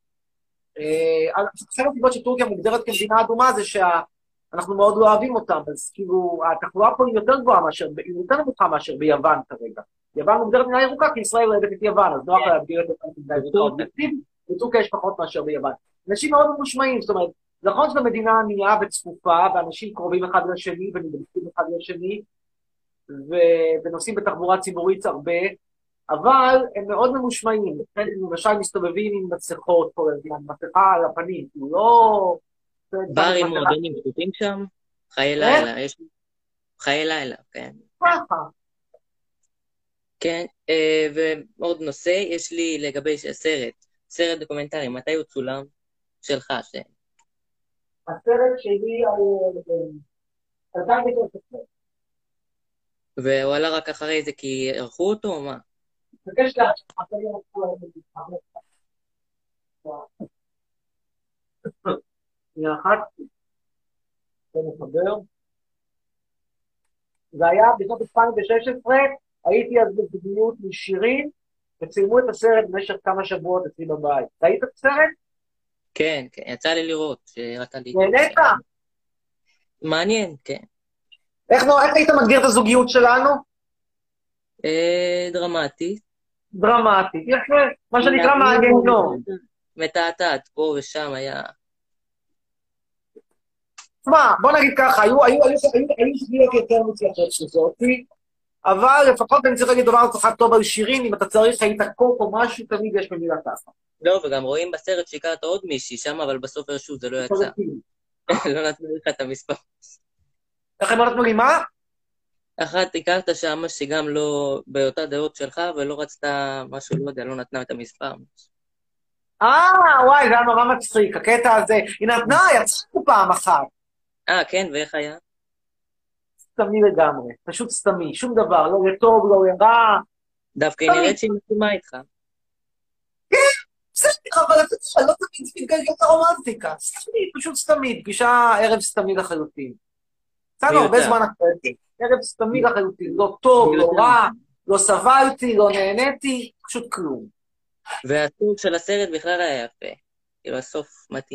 אחת הסיבות שטורקיה מוגדרת כמדינה אדומה זה אנחנו מאוד לא אוהבים אותם, אז כאילו, התחלואה פה היא יותר גבוהה מאשר, היא יותר נמוכה מאשר ביוון כרגע. יוון מוגדרת מדינה ירוקה, כי ישראל אוהבת את יוון, אז נוח להגדיר את המדינה ירוקה. בטורקיה יש פחות מאשר ביוון. אנשים מאוד ממושמעים, זאת אומרת, נכון שזו מדינה ענייה וצפופה, ואנשים קרובים אחד לשני, ונדבקים אחד לשני, ונוסעים בתחבורה ציבורית הרבה, אבל הם מאוד ממושמעים. הם למשל מסתובבים עם מסכות כל הזמן, מסכה על הפנים, כאילו לא... ברים מועדונים פתוחים שם, חיי לילה, יש חיי לילה, כן. כן, ועוד נושא, יש לי לגבי סרט דוקומנטרי, מתי הוא צולם? שלך, הסרט שלי על 2013. והוא עלה רק אחרי זה כי ערכו אותו או מה? מבקש אחת, זה מחבר. זה היה בשנת 2016, הייתי אז בזוגיות משירים, וצילמו את הסרט במשך כמה שבועות אצלי בבית. ראית את הסרט? כן, כן, יצא לי לראות, שראתה לי... נהנית? מעניין, כן. איך היית מגדיר את הזוגיות שלנו? דרמטית. דרמטית, יפה, מה שנקרא מהגיהנום. מתעתעת, פה ושם היה... תשמע, בוא נגיד ככה, היו שגיאות יותר מצליחות שזאתי, אבל לפחות אני צריך להגיד דבר אחד טוב על שירים, אם אתה צריך היית קוק או משהו, תמיד יש במילה ככה. לא, וגם רואים בסרט שהכרת עוד מישהי שם, אבל בסוף הרשות זה לא יצא. לא נתנו לך את המספר. איך הם לא נתנו לי מה? אחת הכרת שם שגם לא באותה דעות שלך, ולא רצתה משהו, לא יודע, לא נתנה את המספר. וואי, זה היה נורא מצחיק, הקטע הזה. היא נתנה, יצאנו פעם אחת. כן, ואיך היה? סתמי לגמרי, פשוט סתמי, שום דבר, לא לטוב, לא לרע. דווקא היא נראית שהיא מסכימה איתך. כן, בסדר, אבל אתה יודע, לא תמיד מתגלגל את הרומנטיקה. סתמי, פשוט סתמי, פגישה ערב סתמי לחלוטין. צאנו הרבה זמן אחרי, ערב סתמי לחלוטין, לא טוב, לא רע, לא סבלתי, לא נהניתי, פשוט כלום. והסוג של הסרט בכלל היה יפה, כאילו הסוף מתאים.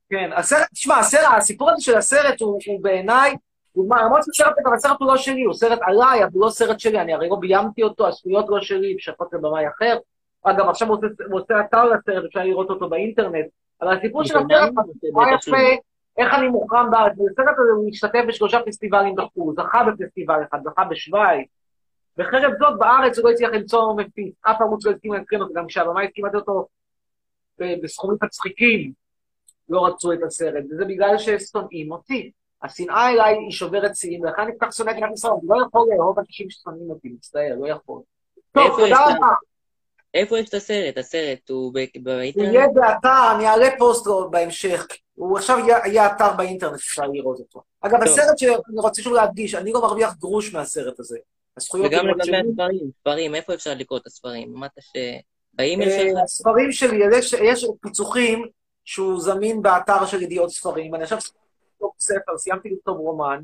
כן, הסרט, תשמע, הסיפור הזה של הסרט הוא בעיניי, למרות שסרט, אבל הסרט הוא לא שלי, הוא סרט עליי, אבל הוא לא סרט שלי, אני הרי לא ביימתי אותו, הזכויות לא שלי, שפות לבמאי אחר. אגב, עכשיו הוא עושה אתר לסרט, אפשר לראות אותו באינטרנט, אבל הסיפור של הסרט הוא יפה, איך אני מוכרם בארץ, בסרט הזה הוא השתתף ב3 פסטיבלים בחו"ל, זכה בפסטיבל אחד, זכה בשוויץ, וחרף זאת בארץ הוא לא הצליח למצוא מפיץ, אף ערוץ לא הסכים להקרין אותו, גם כשהבמאי הסכים לתת אותו בסכומים מצחיקים, לא רצו את הסרט, וזה בגלל ששונאים אותי. השנאה אליי היא שוברת שיאים, ולכן אני כל כך שונא את ישראל, אני לא יכול לאהוב אנשים ששונאים אותי, מצטער, לא יכול. טוב, תודה רבה. איפה יש את הסרט? הסרט הוא באינטרנט? הוא יהיה באתר, אני אעלה פוסט בהמשך. הוא עכשיו יהיה אתר באינטרנט, אפשר לראות אותו. אגב, הסרט שאני רוצה שוב להדגיש, אני לא מרוויח גרוש מהסרט הזה. וגם לגבי הספרים, איפה אפשר לקרוא את הספרים? אמרת שבאימייל שלך? הספרים שלי, יש פיצוחים שהוא זמין באתר של ידיעות ספרים, אני עכשיו סיימתי לכתוב רומן,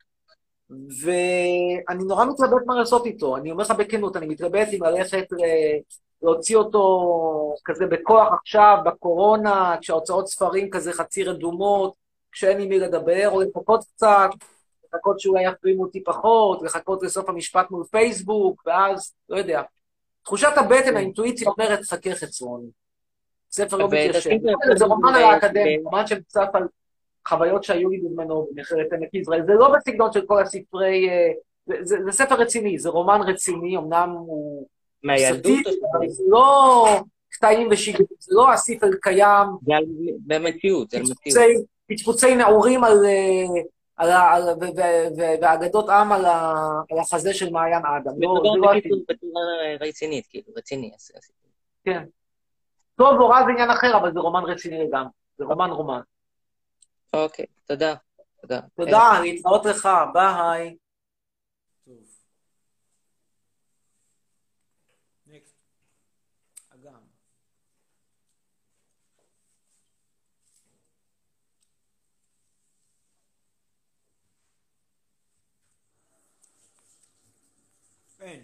ואני נורא מתלבט מה לעשות איתו, אני אומר לך בכנות, אני מתלבט אם ללכת להוציא אותו כזה בכוח עכשיו, בקורונה, כשההוצאות ספרים כזה חצי רדומות, כשאין עם מי לדבר, או לחכות קצת, לחכות שאולי יחרימו אותי פחות, לחכות לסוף המשפט מול פייסבוק, ואז, לא יודע. תחושת הבטן, האינטואיציה אומרת, חכה חצרון. ספר לא מתיישב. זה רומן על האקדמיה, רומן שמצף על חוויות שהיו לי בזמנו במכללת עמק יזרעאל. זה לא בסגנון של כל הספרי... זה ספר רציני, זה רומן רציני, אמנם הוא... מהילדות? זה לא קטעים ושיגים, זה לא הספר קיים. זה במציאות, זה במציאות. פצפוצי נעורים ואגדות עם על החזה של מעיין אדם. בצורה רצינית, כאילו, רציני. כן. טוב, הוראה זה עניין אחר, אבל זה רומן רציני לגמרי. זה רומן. אוקיי, תודה. תודה, להתראות לך, ביי. אגם. אין.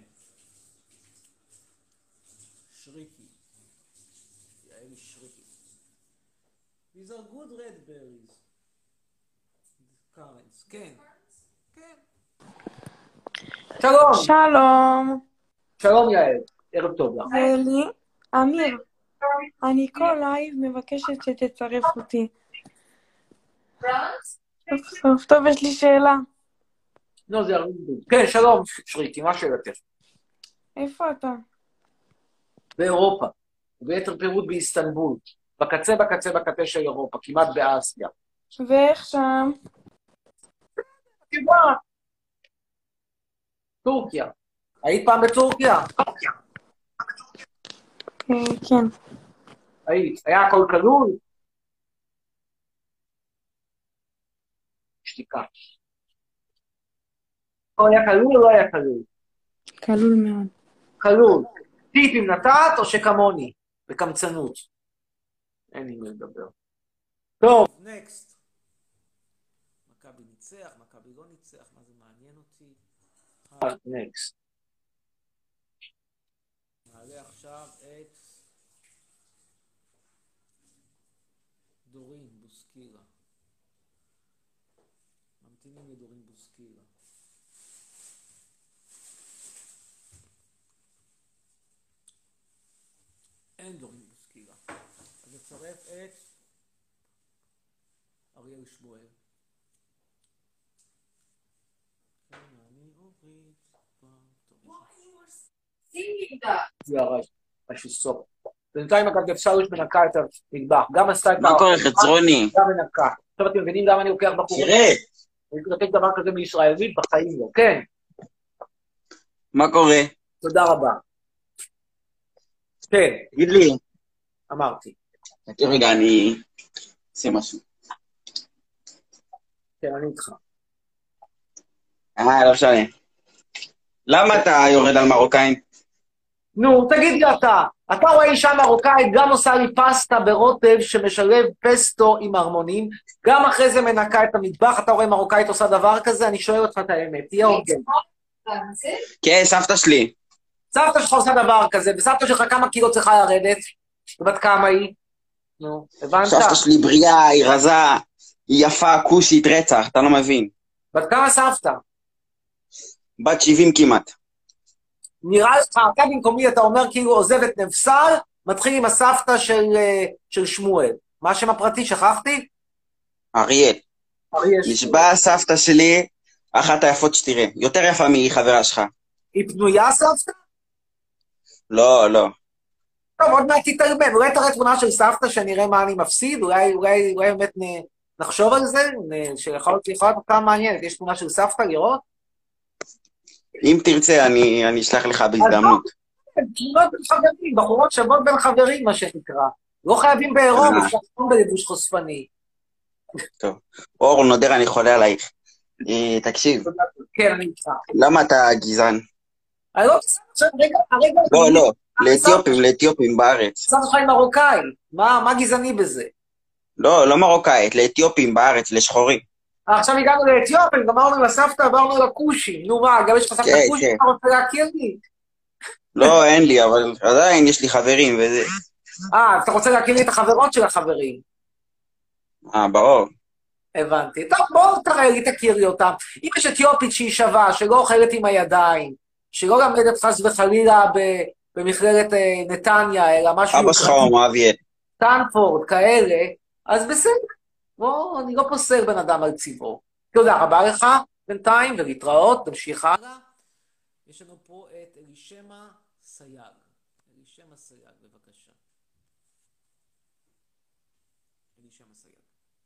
שריקי. יעלי שריקי. These are good red berries. currants. כן. שלום. שלום יעל. ערב טוב לך. ואלי, אמיר, אני כל לייב מבקשת שתצרף אותי. סוף טוב, יש לי שאלה. לא, זה הרבה דברים. כן, שלום שריקי, מה שאלתך? איפה אתה? באירופה, ביתר פירוט באיסטנבול, בקצה של אירופה, כמעט באסיה. ואיך שם? טורקיה. היית פעם בטורקיה? כן. היית. היה הכל כלול? שתיקה. הכל היה כלול או לא היה כלול? כלול מאוד. כלול. טיפים נתת או שכמוני? בקמצנות. אין לי מה לדבר. טוב. נקסט. מכבי ניצח, מכבי לא ניצח, מה זה מעניין אותי? נקסט. נעלה עכשיו את דורין בוסקילה. ממתינים לדורין בוסקילה. אין דורין בוסקילה. אז נצרף את אריאל שמואל. זה הרעש, משהו סוף. בינתיים אגב אפשר מנקה את המטבח, גם עשתה את מה קורה חצרוני? גם מנקה. עכשיו אתם מבינים למה אני לוקח בחורים? תראה! אני לוקח דבר כזה מישראלית בחיים לא, כן. מה קורה? תודה רבה. כן. תגיד לי. אמרתי. רגע, אני אעשה משהו. כן, אני איתך. לא משנה. למה אתה יורד על מרוקאים? נו, תגיד לי אתה רואה אישה מרוקאית, גם עושה לי פסטה ברוטב שמשלב פסטו עם הרמונים, גם אחרי זה מנקה את המטבח, אתה רואה מרוקאית עושה דבר כזה? אני שואל אותך את האמת, תהיה הוגן. כן, סבתא שלי. סבתא שלך עושה דבר כזה, וסבתא שלך כמה קילו צריכה לרדת? ובת כמה היא? נו, הבנת? סבתא שלי בריאה, היא רזה, היא יפה, כוסית, רצח, אתה לא מבין. בת כמה סבתא? בת 70 כמעט. נראה לך, אתה במקומי, אתה אומר כאילו עוזב את נבסל, מתחיל עם הסבתא של שמואל. מה השם הפרטי, שכחתי? אריאל. נשבע סבתא שלי, אחת היפות שתראה. יותר יפה מחברה שלך. היא פנויה סבתא? לא, לא. טוב, עוד מעט תתערבן. אולי תראה תמונה של סבתא שנראה מה אני מפסיד, אולי באמת נחשוב על זה, שיכול להיות כמה מעניינת. יש תמונה של סבתא לראות? אם תרצה, אני אשלח לך בהזדמנות. תמונות בין חברים, בחורות שוות בין חברים, מה שנקרא. לא חייבים בעירום, אפשר גם בלבוש חושפני. טוב. אור, נודר, אני חולה עלייך. תקשיב. כן, אני איתך. למה אתה גזען? אני לא בסדר, הרגע... לא, לאתיופים בארץ. סבתא שלך היא מרוקאי, מה גזעני בזה? לא מרוקאית, לאתיופים בארץ, לשחורים. עכשיו הגענו לאתיופים, גמרנו לסבתא, עברנו לכושים. נו מה, גם יש לך סבתא כושי, אתה רוצה להכיר לי? לא, אין לי, אבל עדיין יש לי חברים וזה. אתה רוצה להכיר לי את החברות של החברים? ברור. הבנתי. טוב, בואו תראה לי, תכיר לי אותם. אם יש אתיופית שהיא שווה, שלא אוכלת עם הידיים, שלא למדת חס וחלילה במכללת נתניה, אלא משהו... אבא שלך הוא אביאל. סטנפורד, כאלה, אז בסדר. בוא, אני לא פוסל בן אדם על צבעו. תודה רבה לך בינתיים, ולהתראות, תמשיך הלאה. יש לנו פה את אלישמע סייג. אלישמע סייג, בבקשה. אלישמע סייג.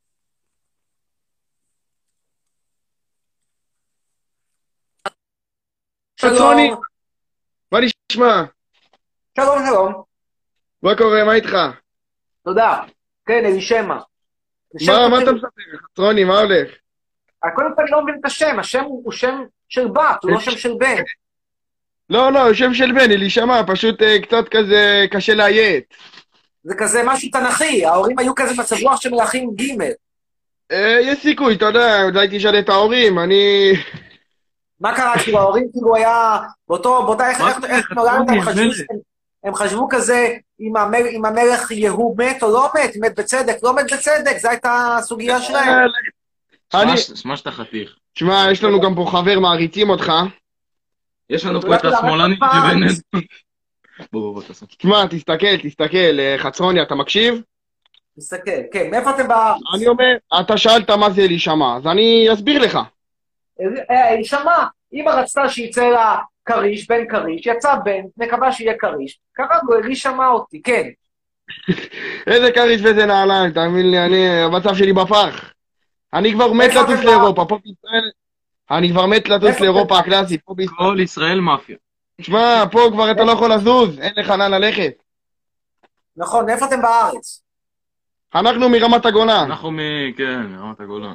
חצרוני, מה נשמע? שלום, שלום. מה קורה, מה איתך? תודה. כן, אלישמע. מה אתה מספר? חצרוני, מה הולך? קודם כל אני לא מבין את השם, השם הוא שם של בת, הוא לא שם של בן. לא, הוא שם של בן, אלישמע, פשוט קצת כזה קשה לאיית. זה כזה משהו תנכי, ההורים היו כזה מצב רוח של מלאכים ג'. יש סיכוי, אתה יודע, אולי תשאל את ההורים, אני... מה קרה כאילו, ההורים כאילו היה, באותה איך נולדת, הם חשבו כזה, אם המלך יהוא מת או לא מת, מת בצדק, לא מת בצדק, זו הייתה הסוגיה שלהם. שמע שאתה חתיך. שמע, יש לנו גם פה חבר, מעריצים אותך. יש לנו פה את השמאלנית שבנט. בוא, תעשה. שמע, תסתכל, חצרוני, אתה מקשיב? תסתכל, כן, מאיפה אתם בארץ? אני אומר, אתה שאלת מה זה אלישמע, אז אני אסביר לך. אלישמע, אמא רצתה שיצא לה קריש, בן קריש, יצא בן, מקווה שיהיה קריש. קראנו, אלישמע אותי, כן. איזה קריש ואיזה נעליים, תאמין לי, המצב שלי בפח. אני כבר מת לטוס לאירופה, פה בישראל... אני כבר מת לטוס לאירופה הקלאסית, פה בישראל... כל ישראל מאפיה. תשמע, פה כבר אתה לא יכול לזוז, אין לך לאן ללכת. נכון, איפה אתם בארץ? אנחנו מרמת הגולן. כן, מרמת הגולן.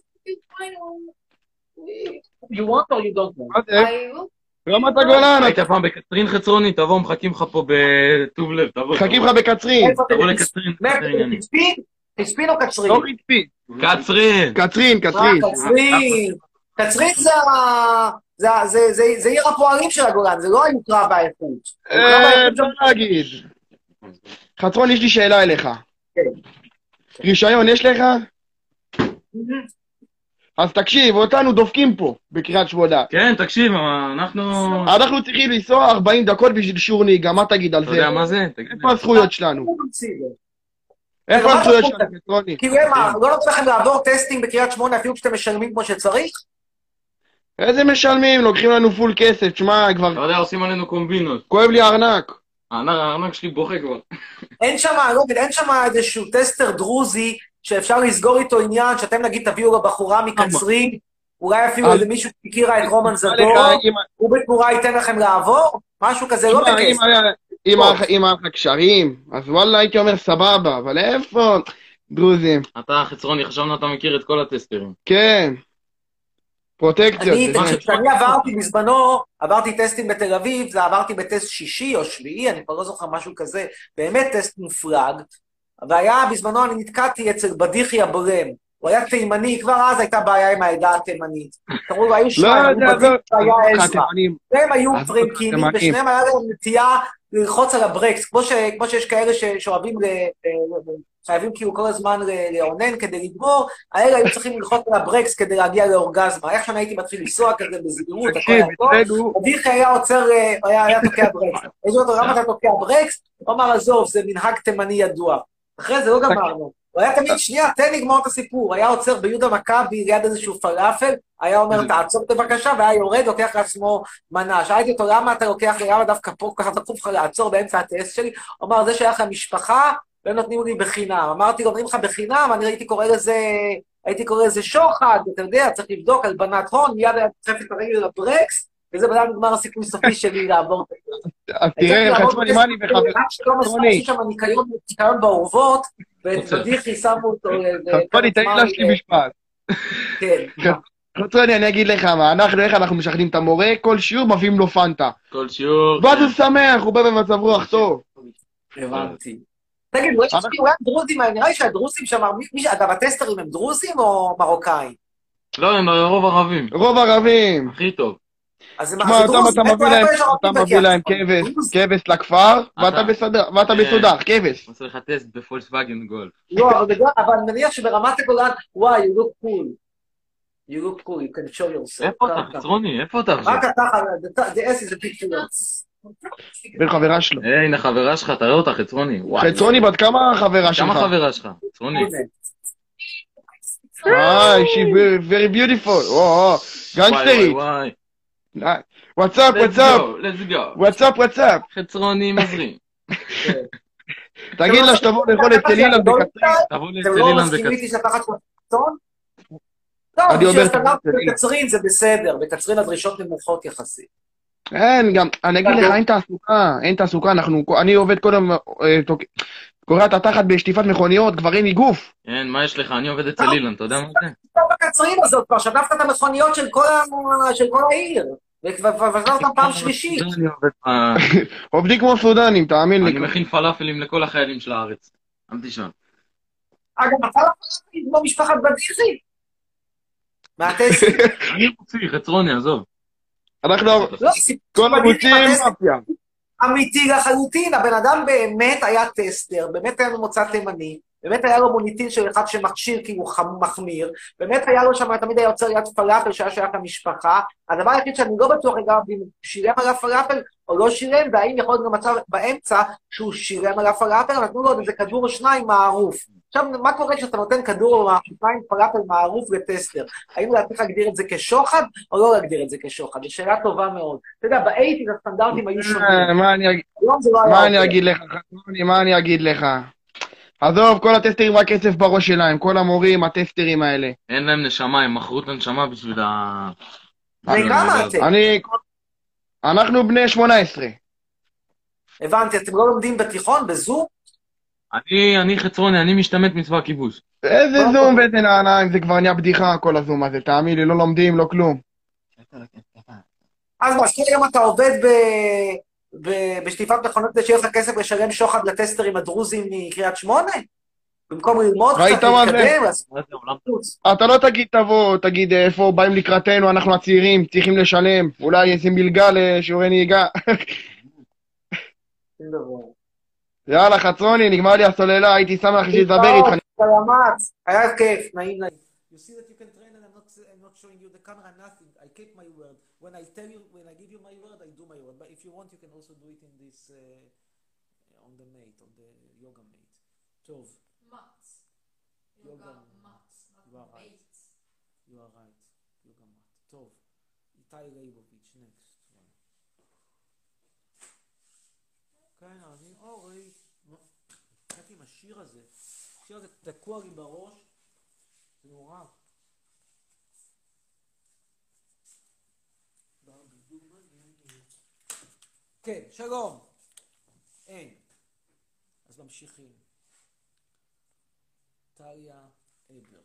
You want or you don't want? רמת הגולן. היית פעם בקצרין חצרוני, תבוא, מחכים לך פה בטוב לב, תבוא. מחכים לך בקצרין. תבוא לקצרין. חצפין או קצרין? לא חצפין. קצרין. קצרין זה עיר הפועלים של הגולן, זה לא היוקרה והאיכות. לא להגיד. חצרון, יש לי שאלה אליך. רישיון יש לך? אז תקשיב, אותנו דופקים פה, בקריית שמונה. כן, תקשיב, אנחנו צריכים לנסוע 40 דקות בשביל שיעור נהיגה, מה תגיד על זה? אתה יודע מה זה? איפה הזכויות שלנו? איפה הזכויות שלנו, חצרוני? כאילו מה, לא נותן לכם לעבור טסטים בקריית שמונה אפילו כשאתם משלמים כמו שצריך? איזה משלמים? לוקחים לנו פול כסף, תשמע, כבר... אתה יודע, עושים עלינו קומבינות. כואב לי הארנק. הארנק שלי בוכה כבר. אין שם איזשהו טסטר דרוזי שאפשר לסגור איתו עניין, שאתם נגיד תביאו לבחורה מקצרין, אולי אפילו איזה מישהו שהכירה את רומן זדור, הוא בתמורה ייתן לכם לעבור? משהו כזה לא בכסף. אם היה לך קשרים, אז וואלה הייתי אומר סבבה, אבל איפה דרוזים? אתה חצרוני, חשבנו אתה מכיר את כל הטסטרים. כן. פרוטקציות. כשאני עברתי בזמנו, עברתי טסטים בתל אביב, זה עברתי בטסט שישי או שביעי, אני כבר לא זוכר משהו כזה, באמת טסט מופלג, והיה בזמנו אני נתקעתי אצל בדיחי הבורם, הוא היה תימני, כבר אז הייתה בעיה עם העדה התימנית. קראו לו, היו לא שניים, היו יודע, בדים והיה עזרא. התימנים. והם היו פרנקינים, ושניהם היה להם נטייה ללחוץ על הברקס, כמו שיש כאלה שאוהבים, חייבים כאילו כל הזמן לאונן כדי לגמור, האלה היו צריכים ללחוץ על הברקס כדי להגיע לאורגזמה. איך שאני הייתי מתחיל לנסוע כזה בזהירות, הכל היה טוב, אביחי היה עוצר, היה תוקע ברקס. איזו אותו, למה אתה תוקע ברקס? הוא אמר, עזוב, זה מנהג תימני ידוע. אחרי זה לא גמרנו. הוא היה תמיד, שנייה, תן לגמור את הסיפור. היה עוצר ביהודה מכבי ליד איזשהו פלאפל, היה אומר, תעצור בבקשה, והיה יורד, לוקח לעצמו מנה. שאלתי אותו, למה אתה לוקח, למה דווקא פה ככה דחוף לך לעצור באמצע הטסט שלי? הוא אמר, זה שייך למשפחה, והם נותנים לי בחינם. אמרתי לו, נותנים לך בחינם, אני הייתי קורא לזה שוחד, אתה יודע, צריך לבדוק הלבנת הון, מיד היה דוחף את הרגל לברקס, וזה בדרך נגמר הסיכוי סופי שלי לעבור את זה. אז תראה, חצרוני, מה אני וחבר? חצרוני. יש שם ניקיון באורוות, ובדיחי שמו אותו... חצרוני, תן לי להשלים משפט. כן. חצרוני, אני אגיד לך מה, איך אנחנו משחדים את המורה, כל שיעור מביאים לו פנטה. כל שיעור... ואז הוא שמח, הוא בא במצב רוח טוב. הבנתי. תגיד, הוא היה דרוזים, נראה לי שהדרוזים שם, אגב, הטסטרים הם דרוזים או מרוקאים? לא, הם רוב ערבים. רוב ערבים. הכי טוב. תשמע, אתה מביא להם כבש לכפר, ואתה בסודר, כבש. עושה לך טסט בפולקסווגן גולף. לא, אבל אני מניח שברמת הגולן, וואי, you look cool. You look cool, you can show yourself. איפה אתה, חצרוני? איפה אתה? רק אתה, the S is a big deal. בין חברה שלו. הנה חברה שלך, תראה אותה, חצרוני. חצרוני, בת כמה חברה שלך? כמה חברה שלך, חצרוני? she's very beautiful. גנגסטרית. וואטסאפ, וואטסאפ. חצרוני מזרים. תגיד לה שתבוא לאכול את אילן בקצרין. תבוא אתם לא מסכימים איתי שאתה תחת קצרין? לא, בשביל הסטנדרט בקצרין זה בסדר, בקצרין הדרישות נמוכות יחסית. אין, גם, אני אגיד לך, אין תעסוקה, אני עובד קודם, קורא את התחת בשטיפת מכוניות, כבר אין לי גוף. אין, מה יש לך? אני עובד אצל אילן, אתה יודע מה זה? אתה בקצרין הזאת, כבר שטפת את המכוניות של כל העיר, ופזר אותם פעם שלישית. עובדים כמו סודנים, תאמין לי. אני מכין פלאפלים לכל החיילים של הארץ. אל תשאל. אגב, אתה פלאפלים כמו משפחת בדיחי? מהטסט. אני מוציא, חצרוני, עזוב. אנחנו, כל המוצאים מאפיה. אמיתי לחלוטין, הבן אדם באמת היה טסטר, באמת היה לו מוצא תימני, באמת היה לו מוניטין של אחד שמכשיר כי הוא מחמיר, באמת היה לו שם, תמיד היה יוצר יד פלאפל שהיה שייך למשפחה, הדבר היחיד שאני לא בטוח אגב, אם הוא שילם על הפלאפל או לא שילם, והאם יכול להיות גם מצב באמצע שהוא שילם על הפלאפל, נתנו לו איזה כדור או שניים מערוף. עכשיו, מה קורה כשאתה נותן כדור או שניים פלאפל מערוף לטסטר? האם להתחיל להגדיר את זה כשוחד, או לא להגדיר את זה כשוחד? זו שאלה טובה מאוד. אתה יודע, באייטיז הסטנדרטים היו שונים. מה אני אגיד לך? עזוב, כל הטסטרים רק כסף בראש שלהם, כל המורים, הטסטרים האלה. אין להם נשמה, הם מכרו את הנשמה בשביל ה... וכמה אתם? אנחנו בני 18. הבנתי, אתם לא לומדים בתיכון, בזום? אני חצרוני, אני משתמט מצבא כיבוש. איזה זום ואיזה נעניים, זה כבר נהיה בדיחה כל הזום הזה, תאמין לי, לא לומדים, לא כלום. אז מזכיר גם אתה עובד בשטיפת מכונות כדי שיהיה לך כסף לשלם שוחד לטסטרים הדרוזים מקריית שמונה? במקום ללמוד קצת להתקדם? אתה לא תגיד תבוא, תגיד איפה באים לקראתנו, אנחנו הצעירים, צריכים לשלם, אולי איזה מלגה לשיעורי נהיגה. יאללה, חצרוני, נגמר לי הסוללה, הייתי שמח שתדבר איתך. היה כיף, נעים נעים. You see that you can train and I'm not showing you the camera, nothing. I keep my word. When I give you my word, I do my word. But if you want, you can also do it in this, on the mate, on the yoga mate. טוב. Mats. Yoga mats, not mates. You are right. Yoga mat. טוב. איתי ליבוביץ', next. כן, אני אורי. קראתי עם השיר הזה. השיר הזה תקוע לי בראש. זה נורא. כן, שלום. אין. אז ממשיכים. טליה אבר.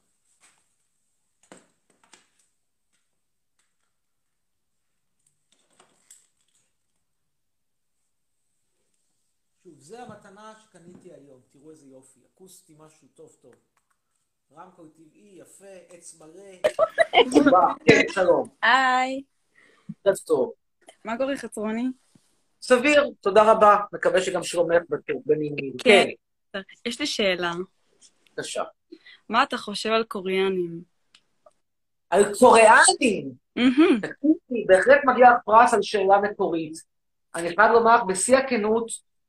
שוב, זה המתנה שקניתי היום. תראו איזה יופי. אקוסטי משהו טוב טוב. רמקול טבעי, יפה, עץ מלא. כן, שלום. היי. ערב טוב. מה קורה חצרוני? סביר, תודה רבה. מקווה שגם שלומך בנימים. כן. יש לי שאלה. בבקשה. מה אתה חושב על קוריאנים? על קוריאנים? בהחלט מגיע פרס על שאלה מקורית. אני חייב לומר, בשיא הכנות,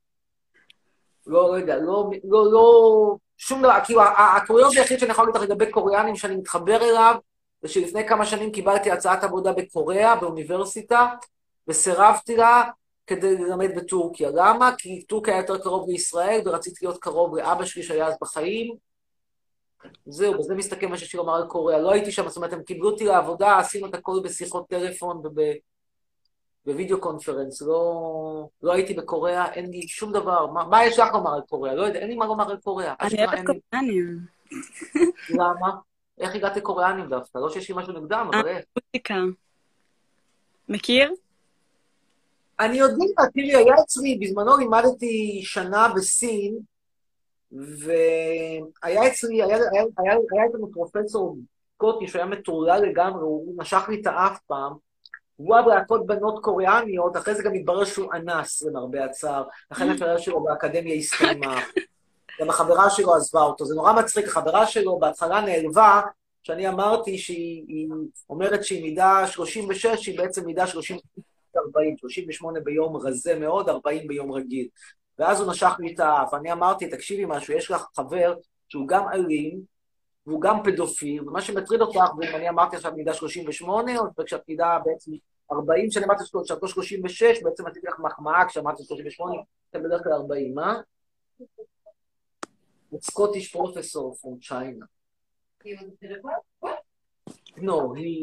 לא יודע, לא, שום דבר, כאילו, הקוריוז היחיד שאני יכול להגיד לך לגבי קוריאנים שאני מתחבר אליו, זה שלפני כמה שנים קיבלתי הצעת עבודה בקוריאה, באוניברסיטה, וסירבתי לה כדי ללמד בטורקיה. למה? כי טורקיה היה יותר קרוב לישראל, ורציתי להיות קרוב לאבא שלי שהיה אז בחיים. זהו, בזה מסתכל מה ששיר אמר על קוריאה. לא הייתי שם, זאת אומרת, הם קיבלו אותי לעבודה, עשינו את הכל בשיחות טלפון ובווידאו קונפרנס. לא הייתי בקוריאה, אין לי שום דבר. מה יש לך לומר על קוריאה? לא יודע, אין לי מה לומר על קוריאה. אני אוהבת קוריאנים. למה? איך הגעת לקוריאנים דווקא? לא שיש לי משהו נגדם, אבל איך? מוזיקה. מכיר? אני יודע, תראי, היה אצלי, בזמנו לימדתי שנה בסין, והיה אצלי, היה אצלנו פרופסור סקוטי שהיה מטורלל לגמרי, הוא נשך לי את האף פעם, הוא אוהב להכות בנות קוריאניות, אחרי זה גם התברר שהוא אנס, למרבה הצער, לכן הקריירה שלו באקדמיה הסתיימה, גם החברה שלו עזבה אותו, זה נורא מצחיק, החברה שלו בהתחלה נעלבה, שאני אמרתי שהיא אומרת שהיא מידה 36, שהיא בעצם מידה 40, 38 ביום רזה מאוד, 40 ביום רגיל. ואז הוא נשך לי את האף, אני אמרתי, תקשיבי משהו, יש לך חבר שהוא גם אלים, והוא גם פדופיל, ומה שמטריד אותך, ואם אני אמרתי עכשיו מידה 38, או כשאת מידה בעצם 40, שאני אמרתי שאתו 36, בעצם עשיתי לך מחמאה, כשאמרתי 38, אתם בדרך כלל 40, מה? It's Scottish professor from China. No,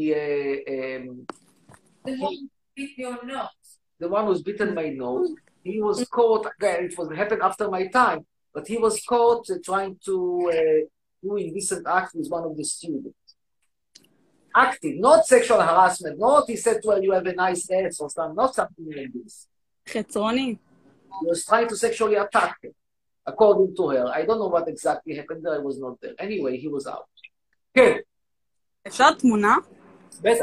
the one who's bitten my nose, he was caught, again, it happened after my time, but he was caught trying to do indecent acts with one of the students. Active, not sexual harassment, not he said to her, you have a nice ass or something, not something like this. חצרוני. He was trying to sexually attack her, according to her. I don't know what exactly happened there, I was not there. Anyway, he was out. כן. אפשר תמונה? בטח.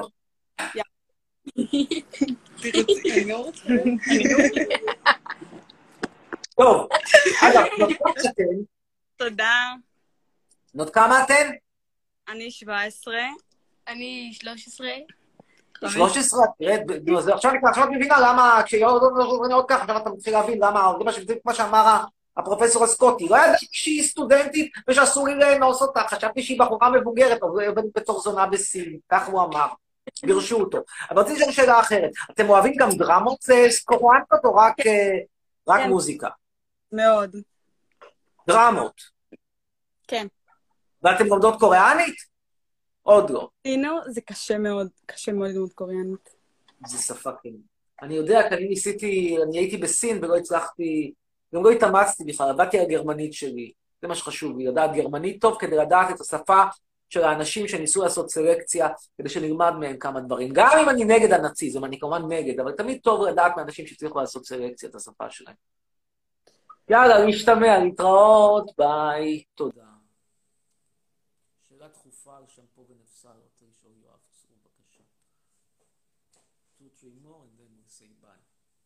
טוב, אגב, נות כמה אתן? תודה. נות כמה אתן? אני 17. אני 13. 13? תראה, עכשיו את מבינה למה, כשיהיו עוד ככה, עכשיו אתה מתחיל להבין למה, זה מה שאמר הפרופסור הסקוטי, לא ידעתי שהיא סטודנטית ושאסור לי לאנוס אותה, חשבתי שהיא בחורה מבוגרת, אבל היא עובדת בתור זונה בסין, כך הוא אמר. ברשו אותו. אבל רציתי לשאול שאלה אחרת. אתם אוהבים גם דרמות קוריאניות או רק מוזיקה? מאוד. דרמות? כן. ואתם לומדות קוריאנית? עוד לא. סינו, זה קשה מאוד ללמוד קוריאנית. זה שפה כן. אני יודע, כי אני הייתי בסין ולא הצלחתי, גם לא התאמצתי בכלל, עבדתי על גרמנית שלי. זה מה שחשוב לי, לדעת גרמנית טוב כדי לדעת את השפה של האנשים שניסו לעשות סלקציה, כדי שנלמד מהם כמה דברים. גם אם אני נגד הנאציזם, אני כמובן נגד, אבל תמיד טוב לדעת מאנשים שצריכו לעשות סלקציה את השפה שלהם. יאללה, להשתמע, להתראות, ביי, תודה. שאלה דחופה על שמפו ונפסל, רוצה לשאול יואב, צאו בבקשה. 2-3 more and then we'll say bye.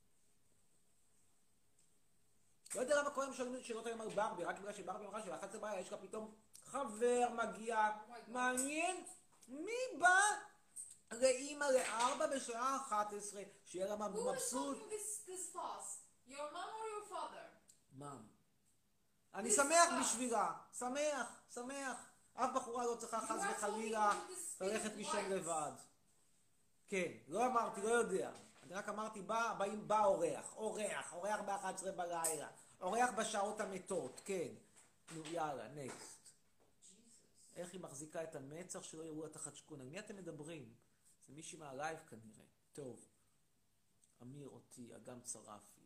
לא יודע למה קוראים שאלות היום על ברבי, רק בגלל שברבי אמרה של11 בעיה, יש לה פתאום חבר מגיע, מעניין, מי בא לאמא ל4 בשעה 11, שיהיה לה מבסוט. Who is this fast? Your mom or your father? מאם. אני שמח בשבילה, שמח. אף בחורה לא צריכה חס וחלילה ללכת לישון לבד. כן, לא אמרתי, לא יודע. אני רק אמרתי, בא אורח ב-11 בלילה. אורח בשעות המתות, כן. נו, יאללה, נקסט. איך היא מחזיקה את המצח שלא יראו את החדשקון? על מי אתם מדברים? זה מישהי מהלייב כנראה. טוב. אמיר אותי, אגם צרפי.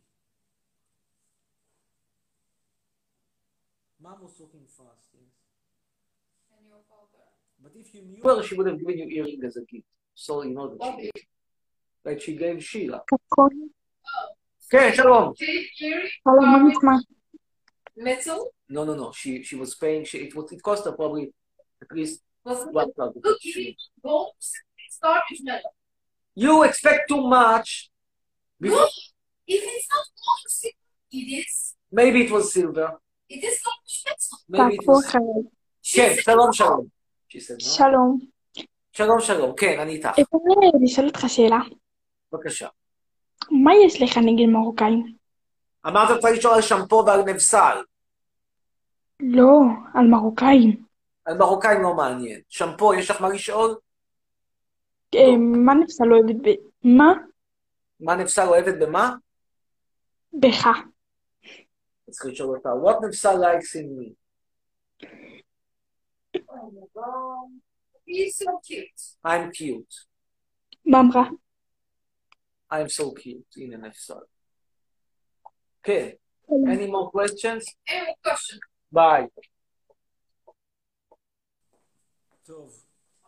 Mom was talking fast, yes. And your father? But if you knew her, she would have given you earring as a gift. So you know that she did. Like she gave Sheila. כן, שלום. שלום, מה נשמע? Metal? No. She was paying, it cost her probably At least What's one the plug. look, goals, it's garbage metal. You expect too much. Look, if it's not gold, it is. Maybe it was silver. It is garbage metal. Maybe it was... כן, שלום שלום. She said, no? שלום. שלום שלום, כן, אני איתך. אפשר לשאול אותך שאלה? בבקשה. מה יש לך נגד מרוקאים? אמרת צריך לשאול על שמפו ועל נבסל. לא, על מרוקאים. על מרוקאים לא מעניין. שמפו, יש לך מה לשאול? מה נפסל אוהבת ב... מה? מה נבסל אוהבת במה? בך. צריך לשאול אותה. What נבסל likes in me? Oh my god. He's so cute. I'm cute. מה אמרה? I'm so cute. הנה נבסל. כן. Any more questions? Any more questions? Bye. טוב.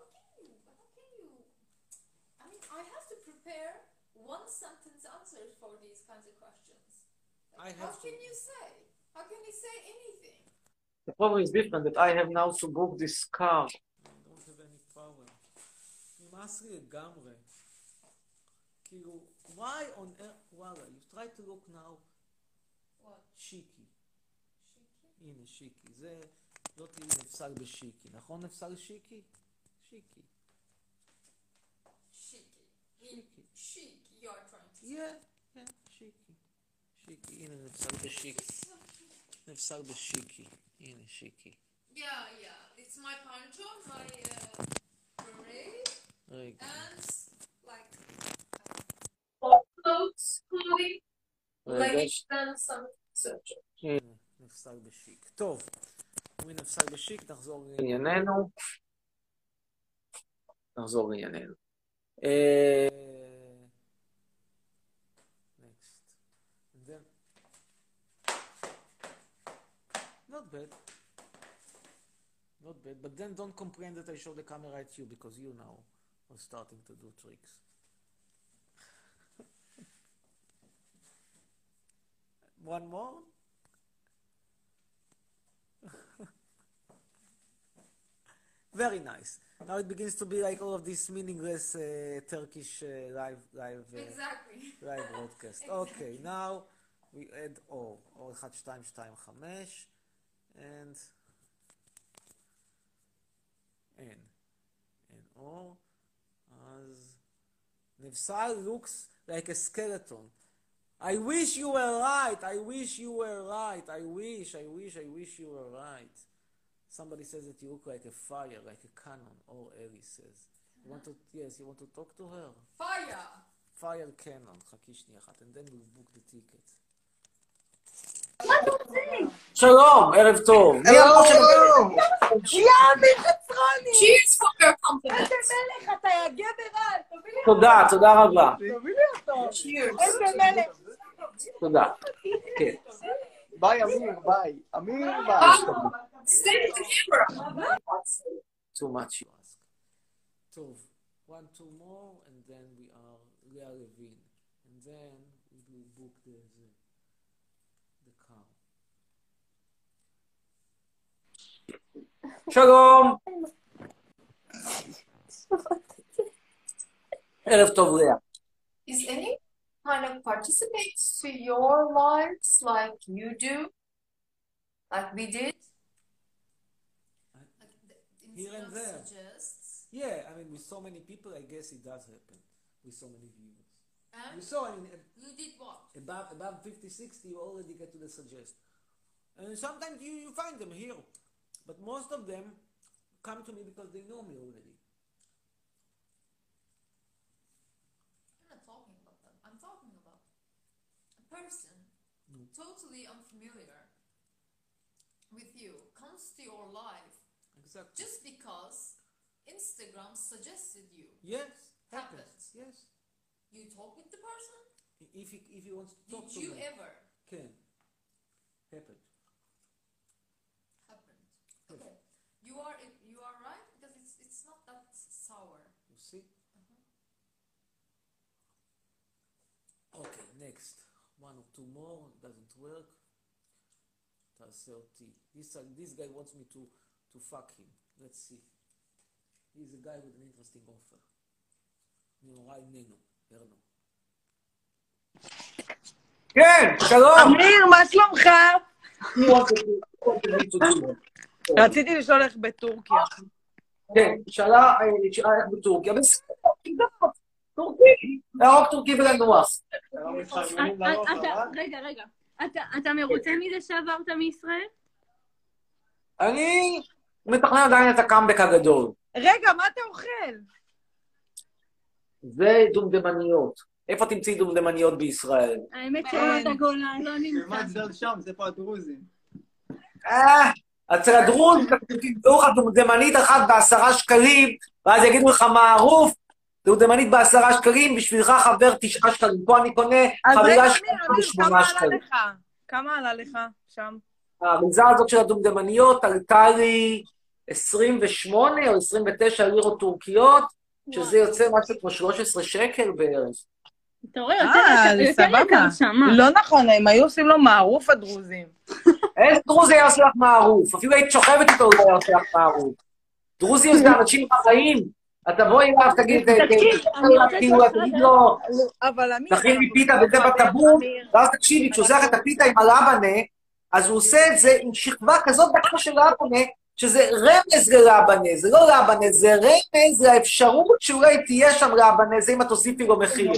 I have to prepare one sentence answers for these kinds of questions. How can you say? How can you say anything? The problem is different that I have now to book this car. I don't have any power. נמאס לי לגמרי. כאילו, why on earth, וואלה, you try to look now. What? שיקי. הנה שיקי, זה לא תהיה נפסל בשיקי, נכון נפסל שיקי? שיקי. Chic, you are trying to say. Yeah, שיקי. שיקי, הנה נפסל בשיקי. נפסל בשיקי, הנה שיקי. Yeah, it's my poncho, my beret, רגע. and like clothing, leggings, and some such. הנה, נפסל בשיק. טוב, אם נפסל בשיק, נחזור לענייננו. נחזור לענייננו. Next. And then... Not bad. Not bad, but then don't complain that I show the camera at you, because you now are starting to do tricks. One more? Very nice. Now it begins to be like all of this meaningless Turkish live Exactly. live broadcast. Okay, now we add O. O 1, 2, 2, 5 and N. And O as Nefsal looks like a skeleton. I wish you were right. I wish you were right. I wish you were right. Somebody says that you look like a fire, like a cannon, or Ellie says. You want to, yes, you want to talk to her? Fire! Fire cannon, חכי שנייה אחת, and then we'll book the ticket. שלום, ערב טוב. יאמי חצרוני! Cheers for your compliment. איזה מלך אתה, יא גבר על, תביא לי תודה, תודה רבה. תביא לי אותו. איזה מלך. תודה. כן. ביי, אמיר, ביי. אמיר, ביי. Stay to camera. Too much you ask. טוב, 1, 2 more, and then we are Leah Levine. And then we will book the car. שלום. ערב טוב, לאה. Is any kind of participates to your lives like you do? Like we did? Here and there. Yeah, I mean, with so many people, I guess it does happen. With so many viewers. And You saw, I mean, you did what? above 50, 60, you already get to the suggest. And sometimes you find them here. But most of them come to me because they know me already. I'm not talking about them. I'm talking about a person totally unfamiliar with you comes to your life Exactly. just because Instagram suggested you. Yes, happens. Happens. Yes. You talk with the person? If he wants to talk Did to you me. ever? Can. Happened. Happened. Okay. You are right because it's not that sour. You see? Okay, next. 1 or 2 more. Doesn't work. תעשה אותי. This guy wants me to fuck him. let's see. He's a guy with an interesting offer. נורא איננו, הרנו. כן, שלום! אמיר, מה שלומך? רציתי לשאול איך בטורקיה. כן, שאלה איך בטורקיה. טורקי, להרוג טורקי ולנוח. רגע. אתה מרוצה מזה שעברת מישראל? אני מתכנן עדיין את הקאמבק הגדול. רגע, מה אתה אוכל? זה דומדמניות. איפה תמצאי דומדמניות בישראל? האמת שרמת הגולן לא נמצא. זה שם, זה פה הדרוזים. אצל הדרוזים תמצאו לך דומדמנית אחת ב10 שקלים, ואז יגידו לך מערוף, דומדמנית ב10 שקלים, בשבילך חבר 9 שקלים. פה אני קונה חבילה ב8 שקלים. כמה עלה לך שם? המגזר הזאת של הדומדמניות עלתה לי 28 או 29 לירות טורקיות, שזה יוצא משהו כמו 13 שקל בערך. אתה רואה, יותר יקר שם. לא נכון, הם היו עושים לו מערוף הדרוזים. איזה דרוזי היה עושה לך מערוף? אפילו היית שוכבת איתו, הוא היה עושה לך מערוף. דרוזים זה אנשים חיים. אתה בואי אליו, תגיד לו, תכין לי פיתה וזה בטבור, ואז תקשיבי, כשהוא עושה לך את הפיתה עם הלבנה, אז הוא עושה את זה עם שכבה כזאת דקה של לבנה, שזה רמז ללבנה, זה לא לבנה, זה רמז לאפשרות שאולי תהיה שם לבנה, זה אם את תוסיפי לו מחיר.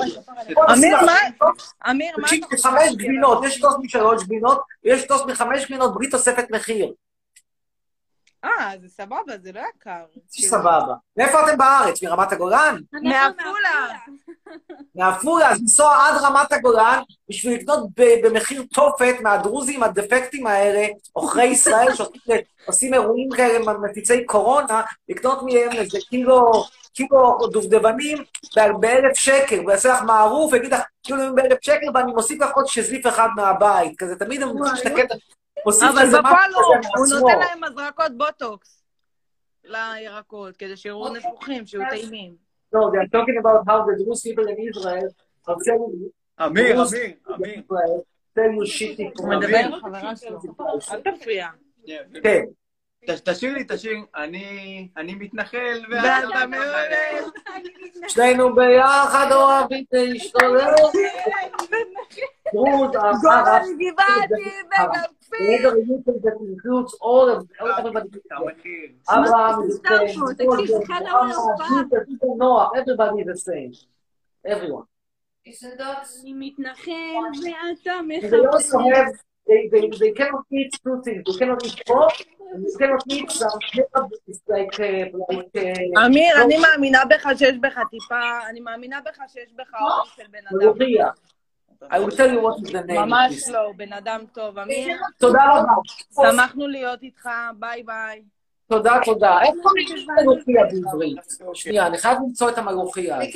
אמיר, מה? תקשיבי, 5 גבינות, יש טוס מ3 גבינות, ויש טוס מ5 גבינות בלי תוספת מחיר. זה סבבה, זה לא יקר. סבבה. מאיפה אתם בארץ? מרמת הגולן? מעפולה. מעפולה, אז לנסוע עד רמת הגולן, בשביל לקנות במחיר תופת מהדרוזים הדפקטים האלה, עוכרי ישראל שעושים אירועים כאלה מפיצי קורונה, לקנות מהם איזה קילו דובדבנים ב1,000 שקל, הוא יעשה לך מערוף, ויגיד לך, כאילו ב1,000 שקל, ואני מוסיף לך עוד שזליף אחד מהבית, כזה, תמיד הם משתקט, אבל בפעם לא, הוא נותן להם מזרקות בוטוקס לירקות, כדי שיראו נפוחים, שיהיו טעימים. No, they are talking about how the Druze people in Israel are telling you... אמיר. tell you shitty... הוא מדבר עם חברה שלו, אל תפריע. כן. תשאיר לי, אני מתנחל ואתה מעולה. שנינו ביחד אוהבים להשתולל. דרוז, גבעתי Whether you think that includes all of everybody. Abraham is the same. Noah, everybody is the same. Everyone. אני מתנחל ואתה They also have, they cannot eat two things. They cannot eat pork, and they cannot eat some like אמיר, אני מאמינה בך שיש בך טיפה, אני מאמינה בך שיש בך אור של בן אדם. I will tell you what is the name. ממש לא, בן אדם טוב. אמיר, תודה רבה. שמחנו להיות איתך, ביי ביי. תודה. איפה יש מלוכיה בעברית? שנייה, אני חייב למצוא את המלוכיה הזאת.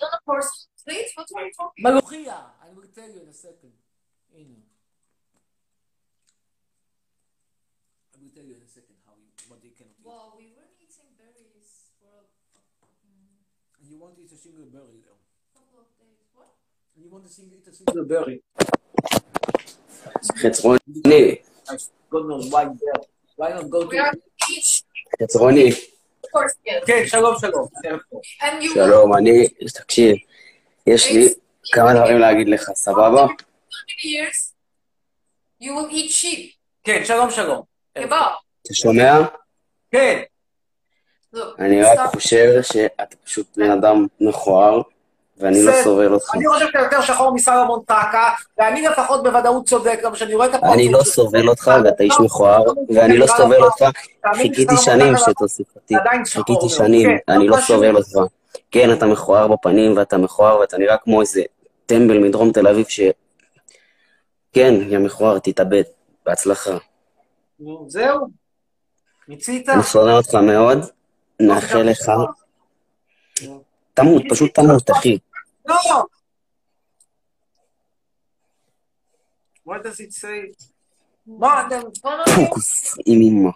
מלוכיה! I will tell you in a second. הנה. I will tell you in a second what they can eat. Well, we were eating berries for And you want to eat a single berry though. couple of days. What? You want to eat a single berry. חצרוני. Why not go to... חצרוני. כן, שלום. שלום, תקשיב, יש לי כמה דברים להגיד לך, סבבה? You will eat sheep. כן, שלום. אתה שומע? כן. אני רק חושב שאתה פשוט בן אדם מכוער, ואני לא סובל אותך. אני חושב שאתה יותר שחור מסלומון טקה, ואני לפחות בוודאות צודק, גם שאני רואה את הפרצוף. אני לא סובל אותך, ואתה איש מכוער, ואני לא סובל אותך. חיכיתי שנים שתוסיף אותי. חיכיתי שנים, אני לא סובל אותך. כן, אתה מכוער בפנים, ואתה מכוער, ואתה נראה כמו איזה טמבל מדרום תל אביב ש... כן, יא מכוער, תתאבד. בהצלחה. זהו. מיצית. אני שונא אותך מאוד, נאחל לך. תמות, פשוט תמות, אחי. לא! What does it say? מה אתם... פוקוס, עם אמא.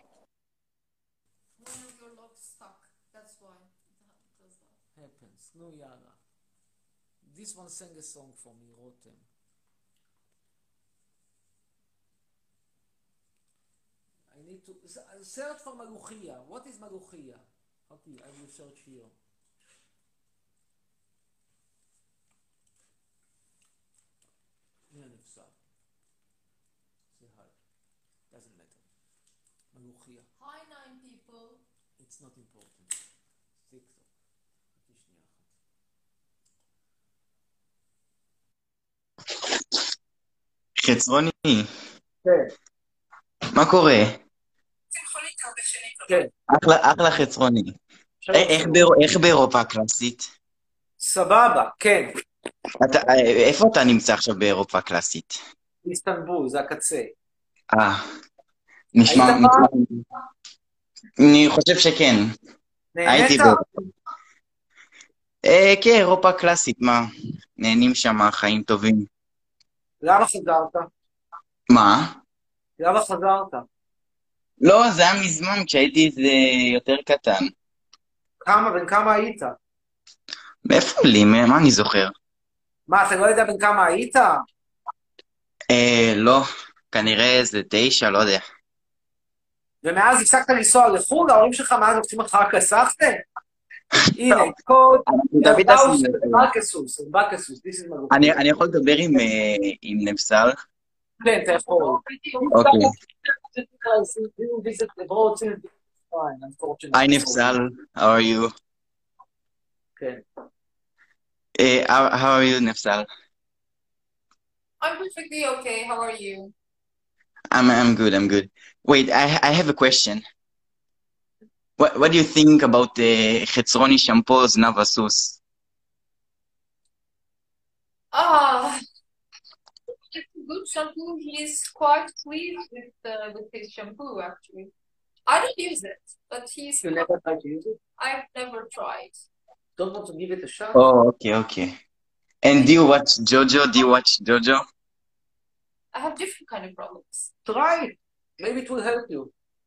No, Yara. This one sang a song for me, Rotem. I I need to search for מלוכיה. What is מלוכיה? Okay, I will search here. מי הנפסל? Say hi. Doesn't matter. מלוכיה. Hi, 9 people. It's not important. Six. חכי שנייה אחת. חצרוני, כן. מה קורה? כן. אחלה חצרוני. איך באירופה הקלאסית? סבבה, כן. איפה אתה נמצא עכשיו באירופה הקלאסית? איסטנבול, זה הקצה. נשמע... אני חושב שכן. נהנית? כן, אירופה הקלאסית, מה? נהנים שם, חיים טובים. למה חזרת? מה? למה חזרת? לא, זה היה מזמן, כשהייתי איזה יותר קטן. בן כמה היית? מאיפה לי? מה אני זוכר? מה, אתה לא יודע בן כמה היית? לא, כנראה איזה 9, לא יודע. ומאז הפסקת לנסוע לחו"ל, ההורים שלך מאז עושים אותך רק לסחתם? הנה, קוד, בקסוס, אני יכול לדבר עם נפסל? כן, אתה יכול. אוקיי. Hi, Nefsal. How are you? Okay. How are you, Nefsal? I'm perfectly okay. How are you? I'm good. I'm good. Wait, I have a question. What do you think about the Chetzroni shampoo Navasus? It's a good shampoo. He's quite pleased with his shampoo, actually. I don't use it, but he's... You never tried to use it? I've never tried. Don't want to give it a shot? Oh, okay. And do you watch JoJo? I have different kind of problems. Try it. Maybe it will help you.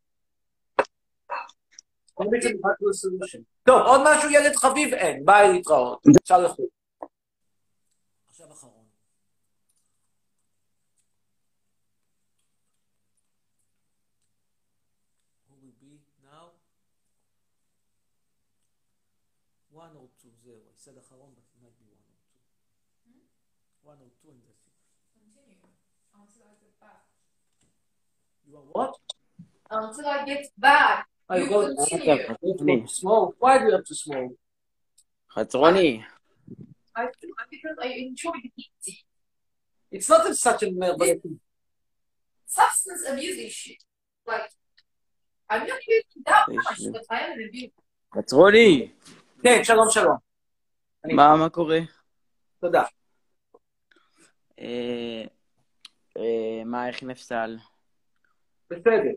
Maybe it's a solution. טוב, עוד משהו ילד חביב? אין. ביי להתראות. אפשר לחוץ. עכשיו אחרון. One or two, zero. I said אחרון, but it might be one or two. One or two and that's it. Continue until I get back. You want what? Until I get back. You continue. Smoke. Why do you have to smoke? חצרוני. Because I enjoy eating. It's not such a substance abuse issue. Like, I'm not using that much, but I am abusing. חצרוני. כן, שלום. מה קורה? תודה. איך נפסל? בסדר.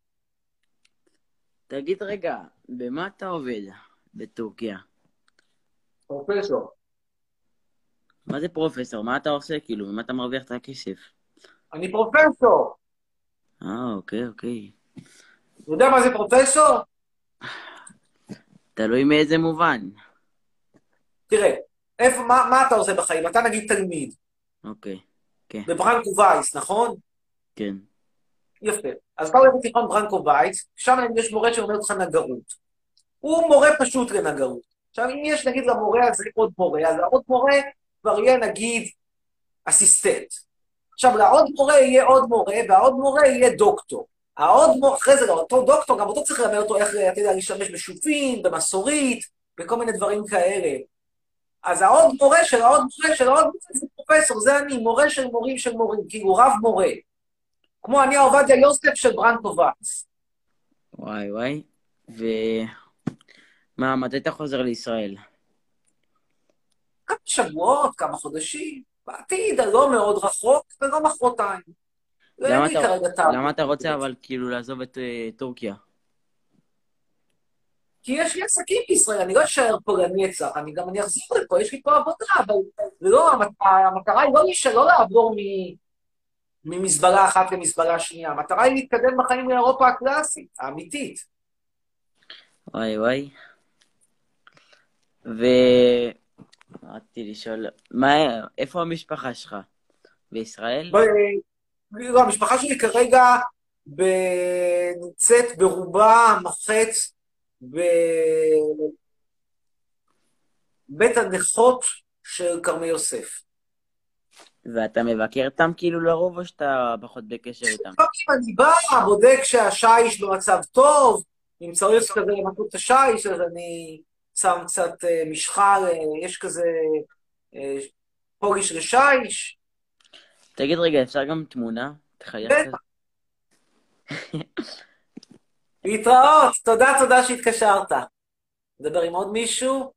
תגיד רגע, במה אתה עובד בטורקיה? פרופסור. מה זה פרופסור? מה אתה עושה? כאילו, ממה אתה מרוויח את הכסף? אני פרופסור. אוקיי. אתה יודע מה זה פרופסור? תלוי מאיזה מובן. תראה, מה אתה עושה בחיים? אתה נגיד תלמיד. אוקיי, כן. בברנקו וייס, נכון? כן. יפה. אז אתה הולך בתיכון ברנקו וייס, שם יש מורה שאומר לך נגרות. הוא מורה פשוט לנגרות. עכשיו, אם יש נגיד למורה הזה עוד מורה, אז העוד מורה כבר יהיה נגיד אסיסטנט. עכשיו, לעוד מורה יהיה עוד מורה, והעוד מורה יהיה דוקטור. העוד מורה, אחרי זה, אותו דוקטור, גם אותו צריך ללמד אותו איך, אתה יודע, להשתמש בשופין, במסורית, וכל מיני דברים כאלה. אז העוד מורה של העוד מורה של העוד מורה זה פרופסור, זה אני, מורה של מורים של מורים, כאילו רב מורה. כמו אני עובדיה יוסף של ברנקו וייס. וואי. מתי אתה חוזר לישראל? כמה שבועות, כמה חודשים, בעתיד, לא מאוד רחוק, ולא מחרתיים. למה אתה רוצה אבל כאילו לעזוב את טורקיה? כי יש לי עסקים בישראל, אני לא אשאר פה לנצח, אני אחזור לפה, יש לי פה עבודה, אבל לא, המטרה היא לא לעבור ממסברה אחת למסברה שנייה, המטרה היא להתקדם בחיים לאירופה הקלאסית, האמיתית. וואי. רציתי לשאול, איפה המשפחה שלך? בישראל? לא, המשפחה שלי כרגע נמצאת ברובה המוחץ בבית הנכות של כרמי יוסף. ואתה מבקר אותם כאילו לרוב, או שאתה פחות בקשר איתם? אני בא, בודק שהשיש במצב טוב, אם צריך כזה למתות את השיש, אז אני שם קצת משחה, יש כזה פוליש לשיש. תגיד רגע, אפשר גם תמונה? תחייך כזה. להתראות, תודה שהתקשרת. נדבר עם עוד מישהו?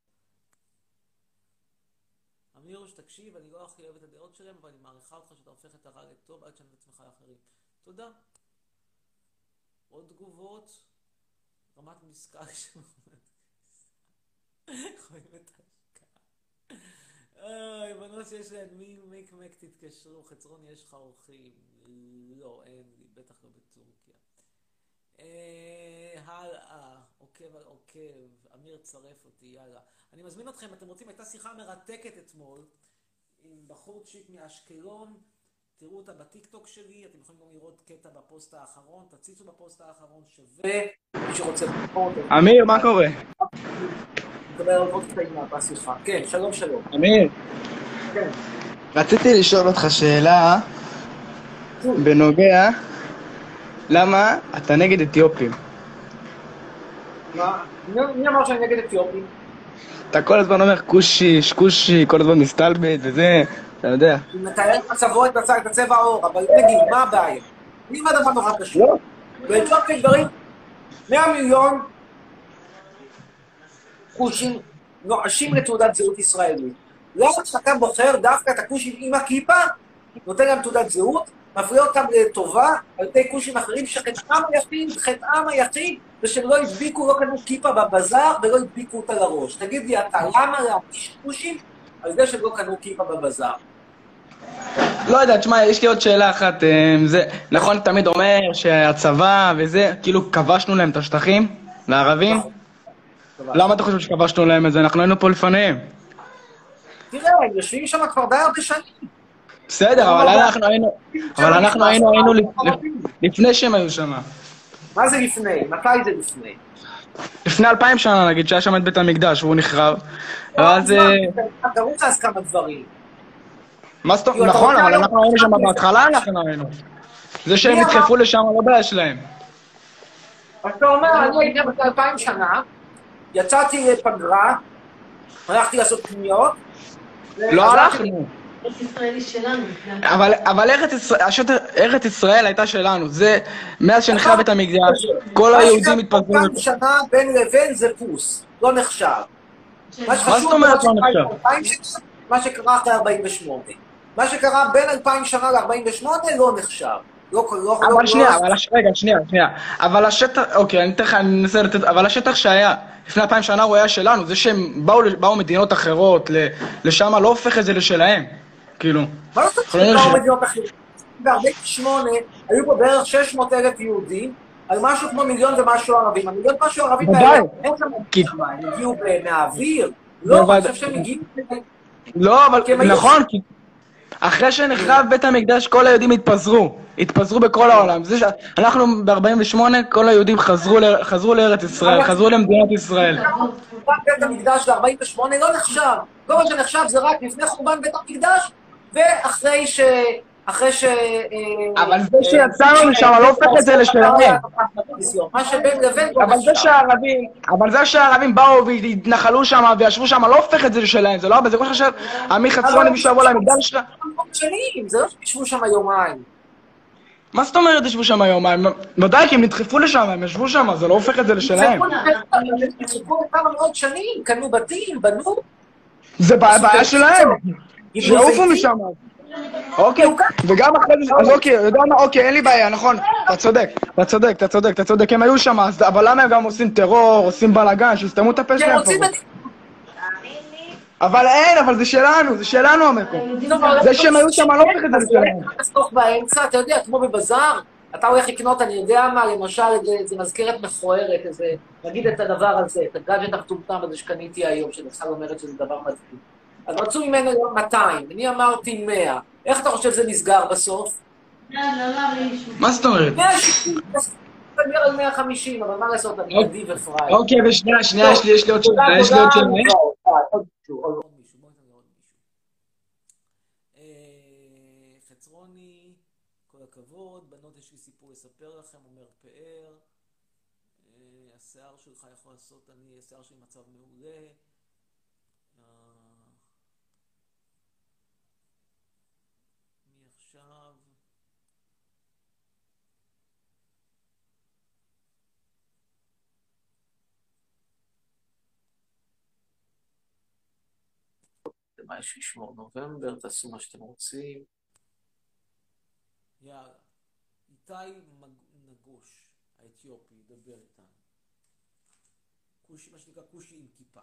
אמיר, שתקשיב, אני לא הכי אוהב את הדעות שלהם, אבל אני מעריכה אותך שאתה הופך את הרע לטוב עד שאני עצמך לאחרים. תודה. עוד תגובות? רמת משקל רואים את ההשקעה. בנות שיש להם מק תתקשרו, חצרון יש לך אורחים. לא, אין לי, בטח לא בטורקיה. הלאה, עוקב על עוקב, אמיר צרף אותי, יאללה. אני מזמין אתכם, אתם רוצים, הייתה שיחה מרתקת אתמול עם בחורצ'יק מאשקלון, תראו אותה בטיקטוק שלי, אתם יכולים גם לראות קטע בפוסט האחרון, תציצו בפוסט האחרון, שווה, מי שרוצה לפחות. אמיר, מה קורה? נקבל עוד קטעים בשיחה. כן, שלום. אמיר. כן. רציתי לשאול אותך שאלה בנוגע למה אתה נגד אתיופים. מה? מי אמר שאני נגד אתיופים? אתה כל הזמן אומר קושי, שקושי, כל הזמן מסתלבט וזה, אתה יודע. הוא מתאר את מצבו, את הצבע העור, אבל נגיד, מה הבעיה? מי מה דבר נורא פשוט? באתיופיה דברים 100 מיליון כושים נואשים לתעודת זהות ישראלית. לא אתה בוחר דווקא את הכושים עם הכיפה, נותן להם תעודת זהות, מפריע אותם לטובה על ידי כושים אחרים חטאם היחיד זה שהם לא הדביקו, לא קנו כיפה בבזאר ולא הדביקו אותה לראש. תגיד לי אתה, למה להפיש כושים על זה שהם לא קנו כיפה בבזאר? לא יודע, תשמע, יש לי עוד שאלה אחת. נכון, תמיד אומר שהצבא וזה, כאילו כבשנו להם את השטחים לערבים? למה אתה חושב שכבשנו להם את זה? אנחנו היינו פה לפניהם. תראה, הם יושבים שם כבר די הרבה שנים. בסדר, אבל אנחנו היינו לפני שהם היו שם. מה זה לפני? מתי זה לפני? לפני 2000 שנה, נגיד, שהיה שם את בית המקדש, והוא נחרב. ואז... קראו לך אז כמה דברים. מה זאת אומרת? נכון, אבל אנחנו היינו שם בהתחלה, אנחנו היינו. זה שהם נדחפו לשם, לא בעיה שלהם. אתה אומר, אני הייתי בת 2000 שנה, יצאתי לפגרה, הלכתי לעשות קניות. לא הלכנו. ארץ ישראל היא שלנו. אבל ארץ ישראל הייתה שלנו. זה, מאז שנחרב את המקדש, כל היהודים התפזרו. 2000 שנה בין לבין זה פוס, לא נחשב. מה זאת אומרת לא נחשב? מה שקרה אחרי 48. מה שקרה בין 2000 שנה ל-48 לא נחשב. אבל שנייה. אבל השטח, אוקיי, אני אנסה לתת, אבל השטח שהיה לפני 2000 שנה הוא היה שלנו. זה שהם באו מדינות אחרות לשם לא הופך את זה לשלהם. כאילו. מה לא תצטרך באו מדינות אחרות? ב-48 היו פה בערך 600,000 יהודים, על משהו כמו מיליון ומשהו ערבים. המיליון ומשהו ערבים האלה, אין שם, הם הגיעו מהאוויר. לא, אני חושב שהם הגיעו... לא, אבל נכון, כי... אחרי שנחרב בית המקדש כל היהודים התפזרו בכל העולם. אנחנו ב-48 כל היהודים חזרו לארץ ישראל, חזרו למדינת ישראל. בית המקדש ב-48 לא נחשב. כל מה שנחשב זה רק לפני חורבן בית המקדש ואחרי ש... אבל זה שיצאנו משם לא הופך את זה לשלהם. מה שבין לבין לא נחשב. אבל זה שהערבים באו והתנחלו שם וישבו שם לא הופך את זה לשלהם. זה לא הרבה, זה כמו שחשב, עמי חצרוני משבוע למקדש שלך. זה לא שישבו שם יומיים. מה זאת אומרת ישבו שם יומיים? ודאי, כי הם נדחפו לשם, הם ישבו שם, זה לא הופך את זה לשלהם. הם נדחפו לכמה מאוד שנים, קנו בתים, בנו. זה בעיה שלהם. שעופו משם. אוקיי, וגם אחרי זה, אז אוקיי, יודע מה, אוקיי, אין לי בעיה, נכון, אתה צודק, הם היו שם, אבל למה הם גם עושים טרור, עושים בלאגן, שיסתמו את הפה שלהם פה? אבל אין, אבל זה שלנו המקום. זה שהם היו שם, לא הופך את זה לשלנו. תסתוך באמצע, אתה יודע, כמו בבזאר, אתה הולך לקנות, אני יודע מה, למשל, זה מזכרת מכוערת, נגיד את הדבר הזה, את הגאדג'ט המטומטם הזה שקניתי היום, שנפסל אומרת שזה דבר מדהים. אז רצו ממנו 200, אני אמרתי 100. איך אתה חושב שזה נסגר בסוף? מה זאת אומרת? 160, תדבר על 150, אבל מה לעשות, אני נדיב ופראי. אוקיי, ושנייה, יש לי עוד שאלה, יש לי עוד שאלה. עוד מישהו. חצרוני, כל הכבוד, בנות יש לי סיפור לספר לכם, אומר פאר, השיער שלך יכול לעשות, השיער שלי מצב מעולה, מי עכשיו? מה יש לשמור? נובמבר, תעשו מה שאתם רוצים. יאללה. איתי נגוש, האתיופי, ידבר איתנו. מה שנקרא כושי עם כיפה.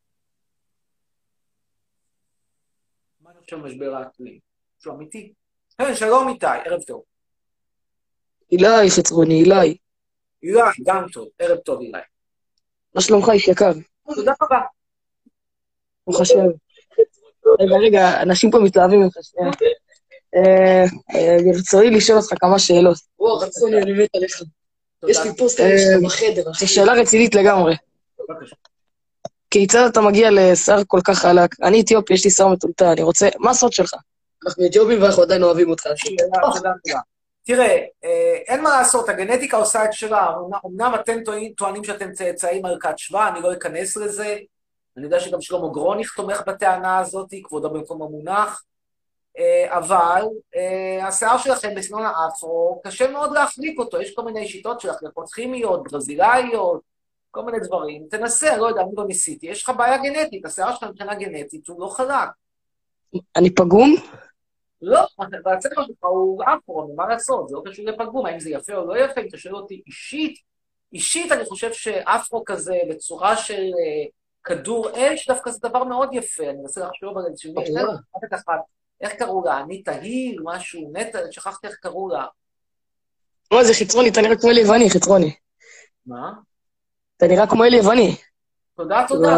מה אני חושב משבר האקלים? שהוא אמיתי? כן, שלום איתי, ערב טוב. אילי, חצרוני, אילי. אילי, גם טוב, ערב טוב אילי. מה שלומך, איש יקר? תודה רבה. ברוך השם. רגע, אנשים פה מתלהבים ממך שנייה. ברצוני לשאול אותך כמה שאלות. וואו, חצרוני, אני מת עליך. יש לי פוסטר שלך בחדר, אחי. זו שאלה רצינית לגמרי. כיצד אתה מגיע לשיער כל כך חלק? אני אתיופי, יש לי שיער מטולטל, אני רוצה... מה הסוד שלך? אנחנו אתיופים ואנחנו עדיין אוהבים אותך. תודה. תראה, אין מה לעשות, הגנטיקה עושה את שלה. אמנם אתם טוענים שאתם צאצאים מלכת שבא, אני לא אכנס לזה. אני יודע שגם שלמה גרוניך תומך בטענה הזאת, כבודו במקום המונח. אבל השיער שלכם בסגנון האפרו, קשה מאוד להחליק אותו. יש כל מיני שיטות של החלקות כימיות, ברזילאיות, כל מיני דברים. תנסה, לא יודע, אני לא ניסיתי. יש לך בעיה גנטית, השיער שלך מבחינה גנטית הוא לא חלק. אני פגום? לא, והצבע שלך הוא אפרו, מה לעשות? זה לא קשור לפגום, האם זה יפה או לא יפה, אם אתה שואל אותי אישית אני חושב שאפרו כזה בצורה של כדור אש, דווקא זה דבר מאוד יפה, אני מנסה לחשוב על איזשהו משהו, איך קראו לה? אני תהיל, משהו, נטע, שכחתי איך קראו לה. מה זה חצרוני, אתה נראה כמו אלי יווני, חצרוני. מה? אתה נראה כמו אלי יווני. תודה, תודה.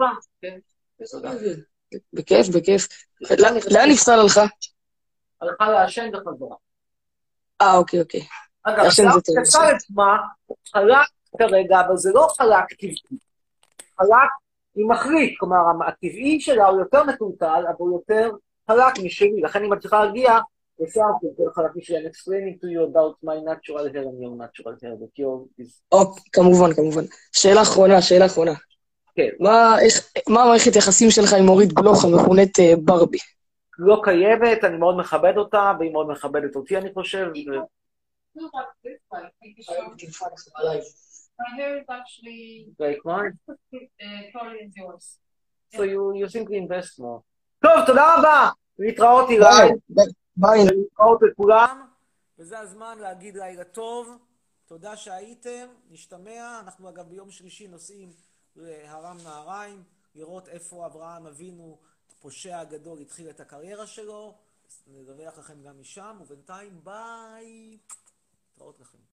בכיף. לאן נפסל הלכה? הלכה לעשן בחזרה. אוקיי. אגב, נפסל עצמה, חלק כרגע, אבל זה לא חלק טבעי. חלק היא מחליט, כלומר, הטבעי שלה הוא יותר מטולטל, אבל הוא יותר חלק משלי. לכן אם את צריכה להגיע, לשיער יותר חלק משלי. I'm explaining to you about my natural hair and your natural hair. כמובן. שאלה אחרונה. כן. מה המערכת יחסים שלך עם אורית גלוך המכונת ברבי? לא קיימת, אני מאוד מכבד אותה, והיא מאוד מכבדת אותי, אני חושב. My hair is actually like mine. Curly as yours. So you simply invest more. טוב, תודה רבה. להתראות אילי. ביי. להתראות לכולם. וזה הזמן להגיד לילה טוב. תודה שהייתם. נשתמע. אנחנו אגב ביום שלישי נוסעים להרם נהריים, לראות איפה אברהם אבינו, הפושע הגדול, התחיל את הקריירה שלו. נדווח לכם גם משם, ובינתיים ביי. להתראות לכם.